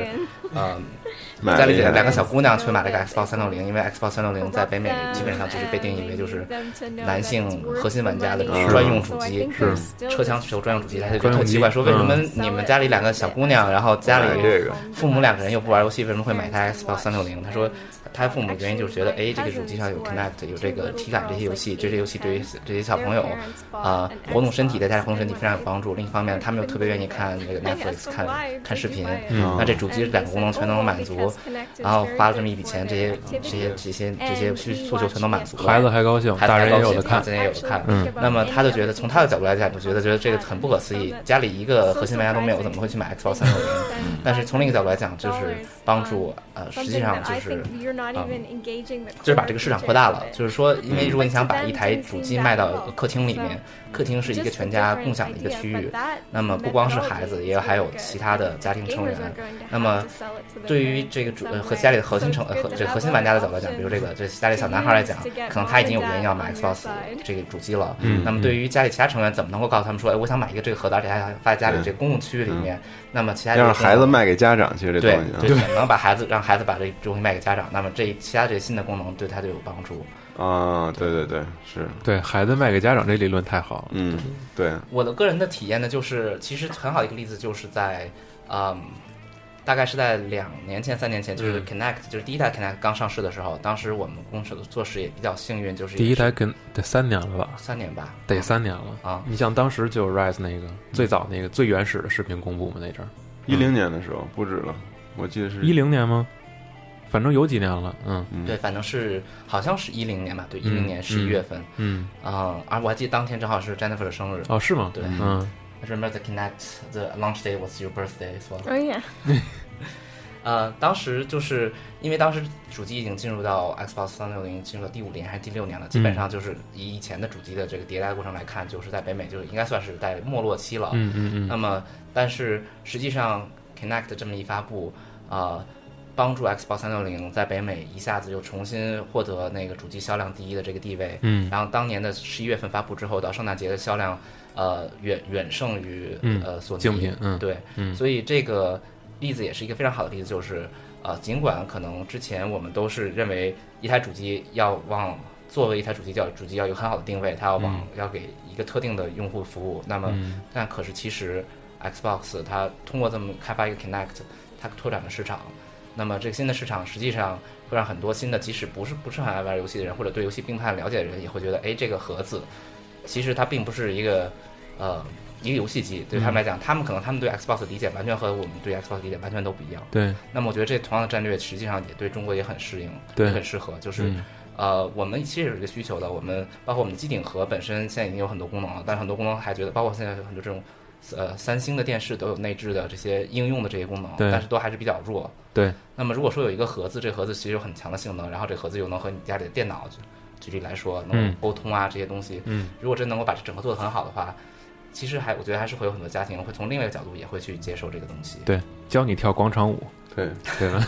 嗯。家里两个小姑娘去买了一个 Xbox 三六零，因为 Xbox 三六零在北美基本上就是被定义为就是男性核心玩家的专用主机， 是车枪手专用主机。他就觉得特奇怪，说为什么你们家里两个小姑娘，然后家里父母两个人又不玩游戏，为什么会买台 Xbox 三六零？他说他父母原因就是觉得，哎，这个主机上有 Connect， 有这个体感这些游戏，这些游戏对于这些小朋友啊、呃、活动身体，在家里活动身体非常有帮助。另一方面，他们又特别愿意看这个 Netflix， 看看视频， 嗯、 那这主机两个功能全都能满足。然后花了这么一笔钱，这些这些这些这些需诉求全都满足了， 孩子还高兴， 大人也有的看， 大人也有的看。 嗯， 那么他就觉得，从他的角度来讲，就觉得觉得这个很不可思议，家里一个核心玩家都没有，怎么会去买 Xbox 三六零？但是从另一个角度来讲，就是帮助呃，实际上就是，嗯，就是把这个市场扩大了。就是说，因为如果你想把一台主机卖到客厅里面，客厅是一个全家共享的一个区域，那么不光是孩子，也还有其他的家庭成员。那么对于这个主呃和家里的核心成呃和这核心玩家的角度来讲，比如这个这家里小男孩来讲，可能他已经有人要买 Xbox 这个主机了。 嗯。 那么对于家里其他成员，怎么能够告诉他们说，哎，我想买一个这个盒子，而且还想放在家里这个公共区域里面？嗯、那么其他让孩子卖给家长，其实这东西对对，能把孩子让孩子把这东西卖给家长，那么这其他这些新的功能对他就有帮助。 啊，对对对，是对孩子卖给家长这理论太好了。 嗯，对。 我的个人的体验呢，就是其实很好的一个例子，就是在嗯。大概是在两年前、三年前，就是 Connect，、嗯、就是第一代 Connect 刚上市的时候，当时我们公司的做事也比较幸运，就是第一代跟得三年了吧？ 三年吧， 得三年了啊！ 你像当时就 Rise 那个、嗯、最早那个最原始的视频公布嘛，那阵儿一零年的时候不止了，我记得是一零年吗？反正有几年了，嗯， 对，反正是好像是一零年吧，对，一零年十一月份， 嗯啊、嗯，而、嗯、我还记得当天正好是 Jennifer 的生日， 哦，是吗？ 对， 嗯。 I remember the Connect, the launch day was your birthday as well. Oh yeah. 呃，当时就是因为当时主机已经进入到 Xbox 三六零进入到第五年还是第六年了，基本上就是以以前的主机的这个迭代过程来看，就是在北美就是应该算是在没落期了。 嗯嗯嗯。 那么，但是实际上 Connect 这么一发布，呃，帮助 Xbox 三六零在北美一下子又重新获得那个主机销量第一的这个地位。 嗯。 然后当年的十一月份发布之后，到圣诞节的销量，呃，远远胜于、 嗯、 呃索尼竞品。嗯。 对。 嗯。 所以这个例子也是一个非常好的例子，就是呃，尽管可能之前我们都是认为一台主机要往作为一台主机叫主机要有很好的定位，它要往、嗯、要给一个特定的用户服务。那么， 嗯、 但可是其实 Xbox 它通过这么开发一个 Connect， 它拓展了市场。那么这个新的市场实际上会让很多新的，即使不是不是很爱玩游戏的人，或者对游戏并不太了解的人，也会觉得，哎，这个盒子其实它并不是一个呃。一个游戏机对他们来讲、嗯，他们可能他们对 Xbox 的理解完全和我们对 Xbox 的理解完全都不一样。 对。 那么我觉得这同样的战略实际上也对中国也很适应， 对， 也很适合。就是、 嗯、 呃，我们其实有一个需求的，我们包括我们的机顶盒本身现在已经有很多功能了，但是很多功能还觉得，包括现在有很多这种呃三星的电视都有内置的这些应用的这些功能，但是都还是比较弱。 对。 那么如果说有一个盒子，这个盒子其实有很强的性能，然后这个盒子又能和你家里的电脑举例来说能沟通啊、嗯、这些东西， 嗯， 如果真能够把这整个做得很好的话。其实还，我觉得还是会有很多家庭会从另外一个角度也会去接受这个东西。 对，教你跳广场舞， 对对吧？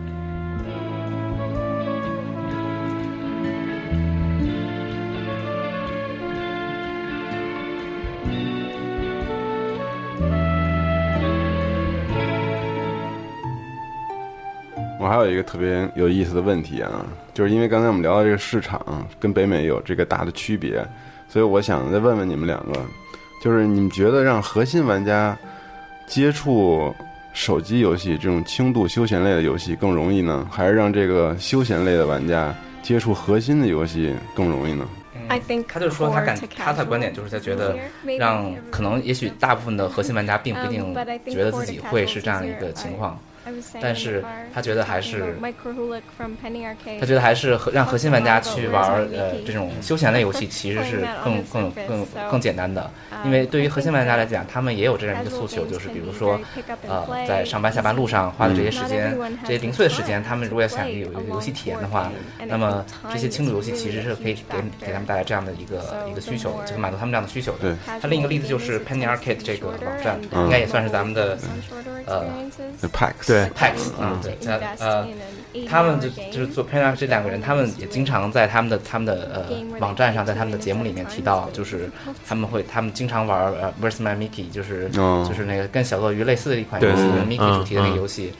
我还有一个特别有意思的问题啊，就是因为刚才我们聊到这个市场跟北美有这个大的区别，所以我想再问问你们两个。就是你们觉得让核心玩家接触手机游戏这种轻度休闲类的游戏更容易呢，还是让这个休闲类的玩家接触核心的游戏更容易呢？ 嗯、他就说他感他的观点就是他觉得让可能也许大部分的核心玩家并不一定觉得自己会是这样一个情况。但是他觉得还是，他觉得还是让核心玩家去玩呃这种休闲类游戏，其实是更更更更简单的。因为对于核心玩家来讲，他们也有这样一个诉求，就是比如说，呃，在上班下班路上花的这些时间，这些零碎的时间，他们如果要想有一个游戏体验的话，那么这些轻度游戏其实是可以给给他们带来这样的一个一个需求，就是满足他们这样的需求的。它另一个例子就是 Penny Arcade 这个网站，应该也算是咱们的呃 P A X。 对 P A X 啊，对，呃，他们就就是做 Penny 这两个人，他们也经常在他们的他们的呃网站上，在他们的节目里面提到，就是他们会他们经常玩呃 Where's My Mickey， 就是、 哦、 就是那个跟小鳄鱼类似的一款游戏 ，Mickey 主题的那个游戏。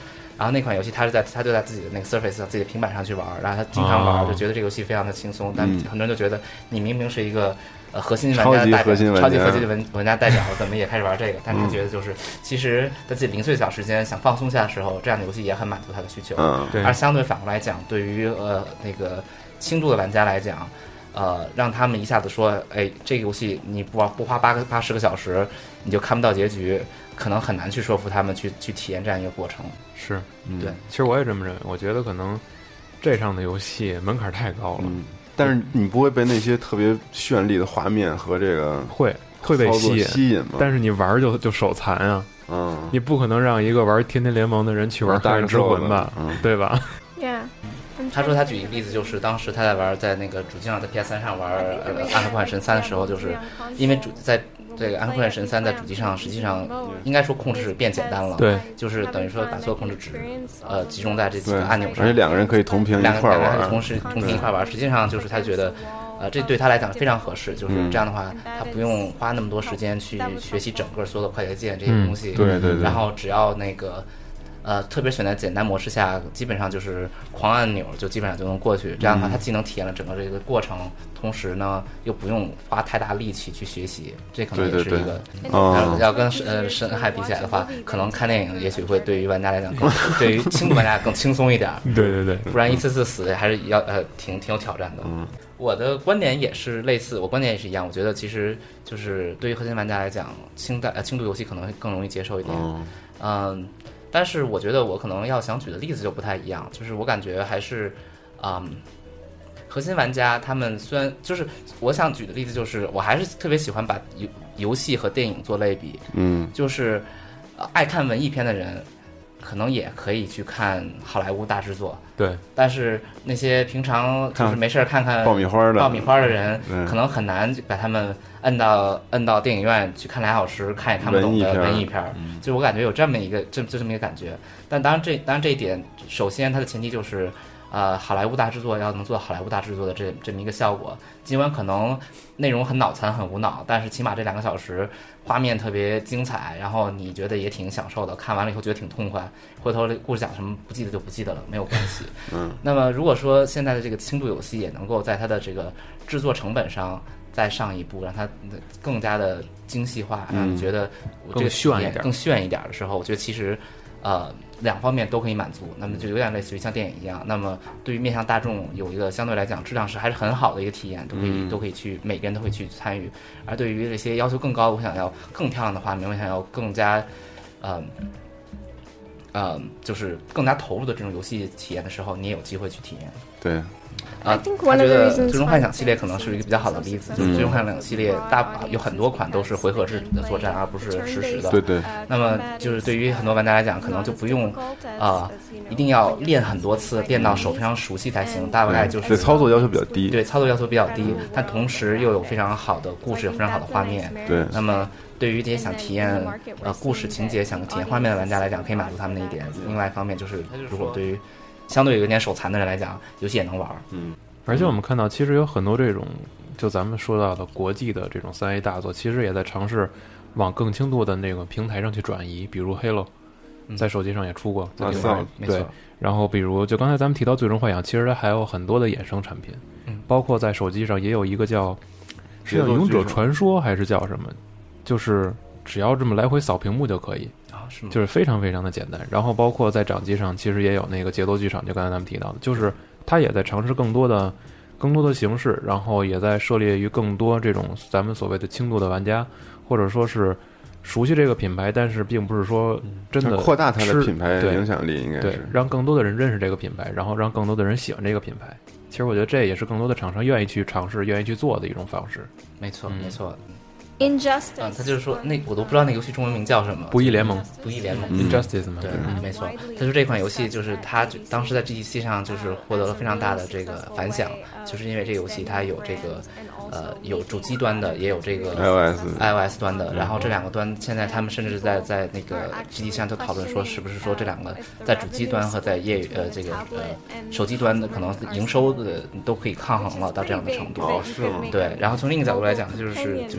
然后那款游戏他是在他就在自己的那个 Surface 上自己的平板上去玩，然后他经常玩，就觉得这个游戏非常的轻松，但很多人就觉得你明明是一个呃核心玩家代表，超级核心的玩家代表，怎么也开始玩这个？但是觉得就是其实在自己零碎小时间想放松下的时候，这样的游戏也很满足他的需求。 嗯， 对。而相对反过来讲，对于呃那个轻度的玩家来讲，呃，让他们一下子说，哎，这个游戏你不玩不花八个八十个小时，你就看不到结局。可能很难去说服他们去去体验这样一个过程。 是， 嗯、对。 其实我也这么认为，我觉得可能这上的游戏门槛太高了。 嗯，但是你不会被那些特别绚丽的画面和这个会会被吸引吸引吗？ 但是你玩就就手残啊。 嗯， 你不可能让一个玩天天联盟的人去玩《大人之魂》吧？ 嗯， 对吧 ？Yeah。 他说他举一个例子，就是当时他在玩在那个主机上，在 P S 三 上玩呃《暗黑破坏神三》的时候，就是因为主在这个《暗黑破坏神三》在主机上，实际上应该说控制变简单了， 对， 就是等于说把所有控制只呃集中在这几个按钮上， 而且两个人可以同屏一块玩， 两个人同时同屏一块玩，实际上就是他觉得。呃，这对他来讲非常合适，就是这样的话，他不用花那么多时间去学习整个所有的快捷键这些东西， 嗯、对对对， 然后只要那个，呃，特别选在简单模式下，基本上就是狂按钮就基本上就能过去。这样的话，他既能体验了整个这个过程，同时呢又不用花太大力气去学习，这可能也是一个。 对对对呃、要跟呃深海比起来的话，可能看电影也许会对于玩家来讲更，对于轻度玩家更轻松一点。 对对对， 不然一次次死还是要呃挺挺有挑战的。 嗯。 我的观点也是类似，我观点也是一样。我觉得其实就是对于核心玩家来讲，轻代呃轻度游戏可能会更容易接受一点。嗯、呃，但是我觉得我可能要想举的例子就不太一样，就是我感觉还是，嗯，核心玩家他们虽然就是我想举的例子就是，我还是特别喜欢把游游戏和电影做类比。 嗯， 就是、呃、爱看文艺片的人。可能也可以去看好莱坞大制作， 对。 但是那些平常就是没事看看爆米花的爆米花的人，可能很难把他们摁到摁到电影院去看俩小时，看也看不懂的文艺片。 嗯、 就我感觉有这么一个这就这么一个感觉。但当然这当然这一点，首先它的前提就是，呃，好莱坞大制作要能做好莱坞大制作的这这么一个效果。尽管可能内容很脑残很无脑，但是起码这两个小时。画面特别精彩，然后你觉得也挺享受的，看完了以后觉得挺痛快。回头故事讲什么不记得就不记得了，没有关系。 嗯。 那么如果说现在的这个轻度游戏也能够在它的这个制作成本上再上一步，让它更加的精细化，让你觉得这个炫一点、 更炫一点的时候，我觉得其实呃两方面都可以满足。那么就有点类似于像电影一样，那么对于面向大众有一个相对来讲质量是还是很好的一个体验，都可以、嗯、都可以去每个人都会去参与。而对于这些要求更高，我想要更漂亮的画面，我想要更加，呃，呃，就是更加投入的这种游戏体验的时候，你也有机会去体验。 对。 啊，他觉得最终幻想系列可能是一个比较好的例子，就是最终幻想系列大有很多款都是回合制的作战，而不是实时的。 对对。 那么就是对于很多玩家来讲，可能就不用啊、呃，一定要练很多次，练到手非常熟悉才行。大概就是对操作要求比较低， 对操作要求比较低，但同时又有非常好的故事，有非常好的画面。 对。 那么对于这些想体验呃故事情节、想体验画面的玩家来讲，可以满足他们的一点。另外一方面就是，如果对于相对有点手残的人来讲，游戏也能玩。 嗯。 而且我们看到，其实有很多这种，就咱们说到的国际的这种三 A 大作，其实也在尝试往更轻度的那个平台上去转移。比如 Halo， 在手机上也出过， 嗯、 对, 对。然后比如就刚才咱们提到《最终幻想》，其实它还有很多的衍生产品， 嗯、 包括在手机上也有一个叫是叫《勇者传说》还是叫什么，就是只要这么来回扫屏幕就可以。 啊，是吗？ 就是非常非常的简单。然后包括在掌机上，其实也有那个节奏剧场，就刚才咱们提到的，就是它也在尝试更多的、更多的形式，然后也在涉猎于更多这种咱们所谓的轻度的玩家，或者说是熟悉这个品牌，但是并不是说真的扩大它的品牌影响力，应该是对，让更多的人认识这个品牌，然后让更多的人喜欢这个品牌。其实我觉得这也是更多的厂商愿意去尝试、愿意去做的一种方式。 没错，没错。 Injustice， 嗯，他就是说，那我都不知道那个游戏中文名叫什么。 不义联盟， 不义联盟、 嗯、，Injustice 嘛， 对，嗯、没错。他说这款游戏就是他当时在 G T C 上就是获得了非常大的这个反响，就是因为这个游戏它有这个呃有主机端的，也有这个 iOS iOS 端的，然后这两个端现在他们甚至在在那个 G T C 上就讨论说，是不是说这两个在主机端和在业余呃这个呃手机端的可能营收的都可以抗衡了到这样的程度。 哦，是吗？ 对，然后从另一个角度来讲，就是举另一个例子。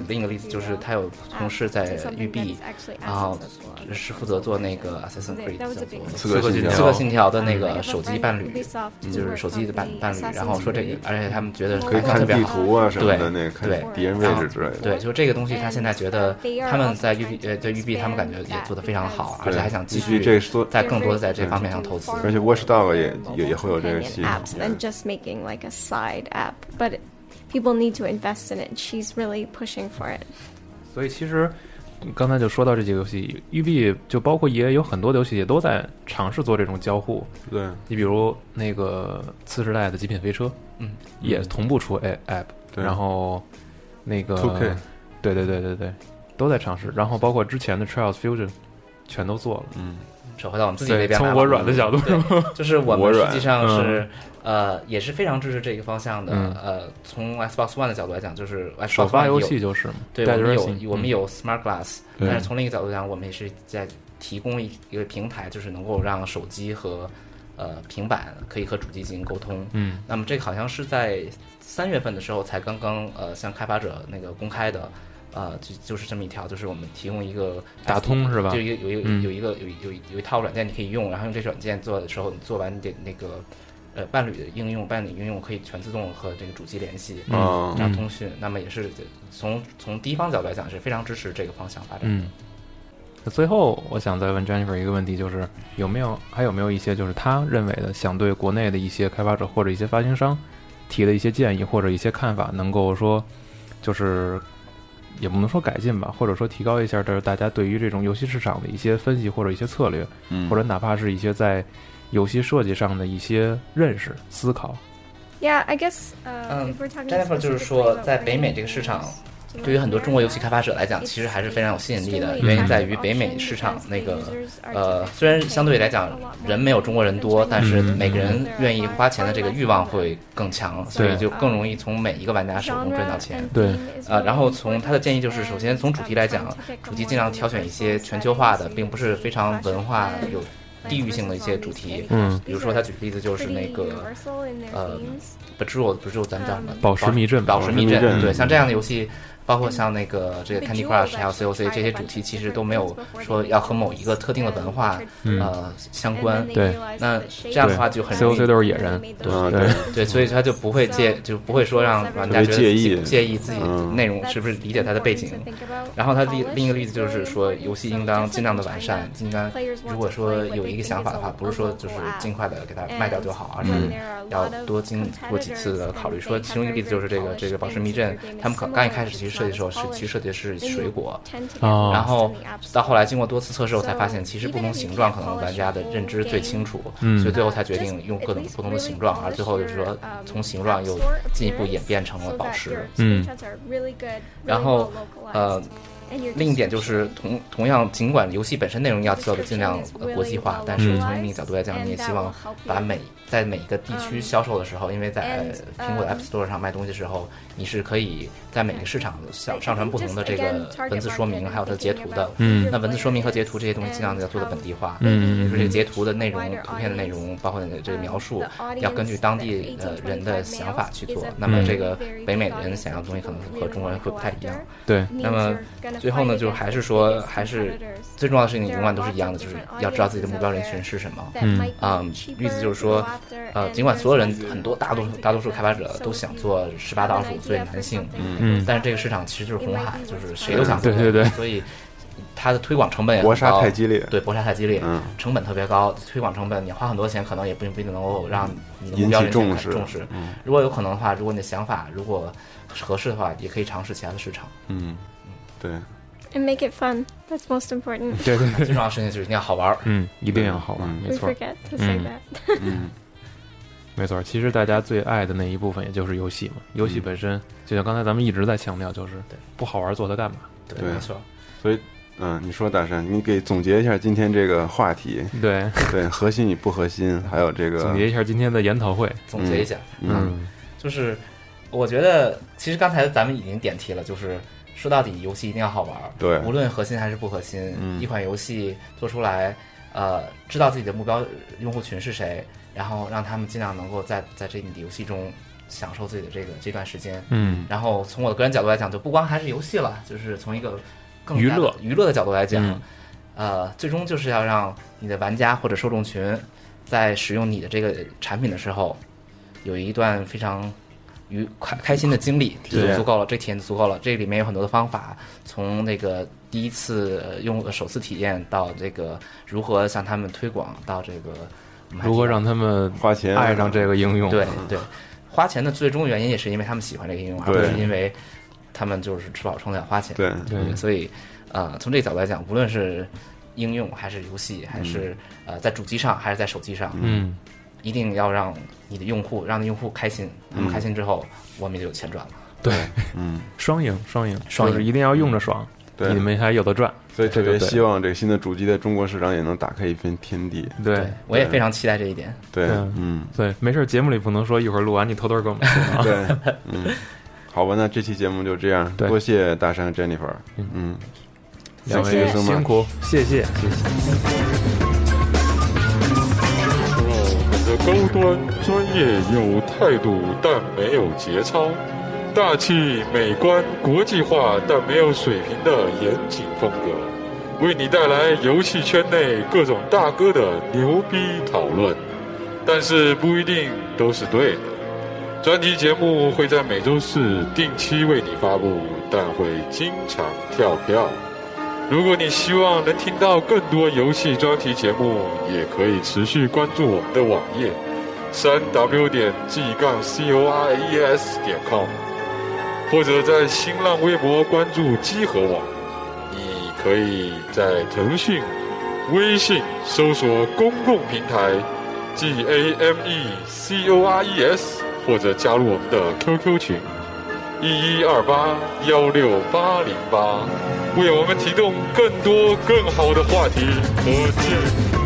就是他有同事在育碧，然后是负责做那个 Assassin's Creed 叫做刺客信条刺客信条的那个手机伴侣，就是手机的伴伴侣。然后说这个，而且他们觉得可以看地图啊什么的，那对看敌人位置之类的。 对，就这个东西，他现在觉得他们在育碧呃对育碧，他们感觉也做得非常好，而且还想继续这在更多的在这方面上投资。 而且 Watchdog 也也也会有这个系统。 apps than just making like a side app, but people need to invest in it. She's really pushing for it. 所以其实刚才就说到这几个游戏，育碧就包括 E A 有很多的游戏也都在尝试做这种交互。 对， 你比如那个次世代的极品飞车， 嗯， 也同步出 app，、嗯、然后那个 two K， 对对对对对，都在尝试。然后包括之前的 Trials Fusion， 全都做了。 嗯，扯回到我们自己那边， 从我软的角度， 就是我们实际上是。 嗯呃，也是非常支持这个方向的。嗯、呃，从 Xbox One 的角度来讲，就是 Xbox One 首发游戏就是嘛， 对，我们有我们有 Smart Glass，、 嗯、 但是从另一个角度讲，我们也是在提供一一个平台，就是能够让手机和呃平板可以和主机进行沟通。 嗯， 那么这个好像是在三月份的时候才刚刚呃向开发者那个公开的。呃，就就是这么一条，就是我们提供一个打通是吧？ 就有有一个、嗯、有一个有有有一套软件你可以用，然后用这软件做的时候，你做完你的那个。呃，伴侣的应用，伴侣应用可以全自动和这个主机联系， 嗯， 这样通讯。嗯、那么也是从从第一方角度来讲，是非常支持这个方向发展的。 嗯。最后，我想再问 Jennifer 一个问题，就是有没有还有没有一些就是他认为的想对国内的一些开发者或者一些发行商提的一些建议或者一些看法，能够说就是也不能说改进吧，或者说提高一下，这是大家对于这种游戏市场的一些分析或者一些策略， 嗯， 或者哪怕是一些在游戏设计上的一些认识思考。 Yeah, I guess, uh, 嗯 Jennifer 就是说在北美这个市场对于很多中国游戏开发者来讲其实还是非常有吸引力的，原因在于北美市场那个呃虽然相对来讲人没有中国人多，但是每个人愿意花钱的这个欲望会更强，所以就更容易从每一个玩家手中赚到钱。 对， 呃，然后从他的建议就是首先从主题来讲，主题尽量挑选一些全球化的并不是非常文化有地域性的一些主题， 嗯， 比如说他举例子就是那个，呃 ，Bejeweled Bejeweled 咱们叫什么？ 宝石密镇， 宝石密镇，对，像这样的游戏，包括像那个这个 Candy Crush 还有 C O C 这些主题，其实都没有说要和某一个特定的文化、 嗯、 呃相关。 对， 那这样的话就很 C O C 都是野人， 对、 嗯、 对对，所以他就不会介就不会说让玩家觉得介意介意自己内容是不是理解它的背景。嗯、然后他另另一个例子就是说，游戏应当尽量的完善，应该如果说有一个想法的话，不是说就是尽快的给它卖掉就好，而是要多经过几次的考虑。说其中一个例子就是这个这个宝石密镇，他们刚一开始其实设计的时候是其实设计的是水果， 哦， 然后到后来经过多次测试后才发现，其实不同形状可能玩家的认知最清楚， 嗯， 所以最后才决定用各种不同的形状，而最后就是说从形状又进一步演变成了宝石， 嗯， 然后呃。另一点就是同同样，尽管游戏本身内容要做的尽量、呃、国际化，但是从另一个角度来讲，你也希望把每在每一个地区销售的时候，因为在苹果的 App Store 上卖东西的时候，你是可以在每个市场上上传不同的这个文字说明，还有它的截图的。 嗯， 那文字说明和截图这些东西尽量要做的本地化。 嗯， 比如说这个截图的内容、图片的内容，包括这个描述，要根据当地呃人的想法去做。那么这个北美人想要的东西可能和中国人会不太一样。 对， 那么最后呢，就还是说，还是最重要的事情永远都是一样的，就是要知道自己的目标人群是什么。 嗯， 啊、嗯，例子就是说，呃，尽管所有人很多大多数大多数开发者都想做十八到二十五岁男性， 嗯， 但是这个市场其实就是红海，就是谁都想做， 对对对， 所以它的推广成本也搏杀太激烈， 对，搏杀太激烈， 嗯， 成本特别高，推广成本你花很多钱，可能也不不一定能够让你的目标人群重视重视。 嗯， 如果有可能的话，如果你的想法如果合适的话，也可以尝试其他的市场。 嗯，对。 And make it fun. That's most important. 对对对， 最重要的事情就是一定要好玩。 嗯，一定要好玩， 嗯、 没错。 We forget to say that. 嗯， 没错。其实大家最爱的那一部分，也就是游戏嘛。游戏本身，就像刚才咱们一直在强调，就是不好玩做它干嘛？ 对，没错。 所以，嗯，你说大山，你给总结一下今天这个话题。 对对，核心与不核心，还有这个总结一下今天的研讨会。 总结一下， 嗯， 嗯就是我觉得，其实刚才咱们已经点题了，就是。说到底，游戏一定要好玩， 对， 无论核心还是不核心， 嗯、 一款游戏做出来，呃，知道自己的目标用户群是谁，然后让他们尽量能够在在这你的游戏中享受自己的这个这段时间。 嗯， 然后从我的个人角度来讲，就不光还是游戏了，就是从一个更娱乐娱乐的角度来讲， 嗯、 呃，最终就是要让你的玩家或者受众群在使用你的这个产品的时候，有一段非常愉快开心的经历，就足够了，这体验就足够了。这里面有很多的方法，从那个第一次用首次体验到这个如何向他们推广，到这个如何让他们花钱爱上这个应用。 对对，花钱的最终原因也是因为他们喜欢这个应用，而不是因为他们就是吃饱撑的要花钱。 对对，所以呃，从这个角度来讲，无论是应用还是游戏，还是、嗯、呃在主机上还是在手机上， 嗯， 一定要让你的用户让你用户开心，他们开心之后，嗯、我们就有钱赚了。 对， 嗯， 双赢双赢， 双赢就是一定要用着爽， 对， 你们还有的赚。 所以特别希望这个新的主机在中国市场也能打开一片天地。 对， 对我也非常期待这一点。 对，嗯， 对，没事，节目里不能说，一会儿录完你偷偷跟我们说啊。 对，嗯，好吧，那这期节目就这样，多谢大山和 Jennifer， 嗯， 两位辛苦，谢谢，谢谢。 高端专业有态度，但没有节操；大气美观国际化，但没有水平的严谨风格，为你带来游戏圈内各种大哥的牛逼讨论，但是不一定都是对的。专题节目会在每周四定期为你发布，但会经常跳票。如果你希望能听到更多游戏专题节目，也可以持续关注我们的网页三 w 点 g 杠 c o r e s 点 com， 或者在新浪微博关注机核网。你可以在腾讯、微信搜索公共平台 G A M E C O R E S， 或者加入我们的 Q Q 群一一二八幺六八零八，为我们提供更多更好的话题。再见。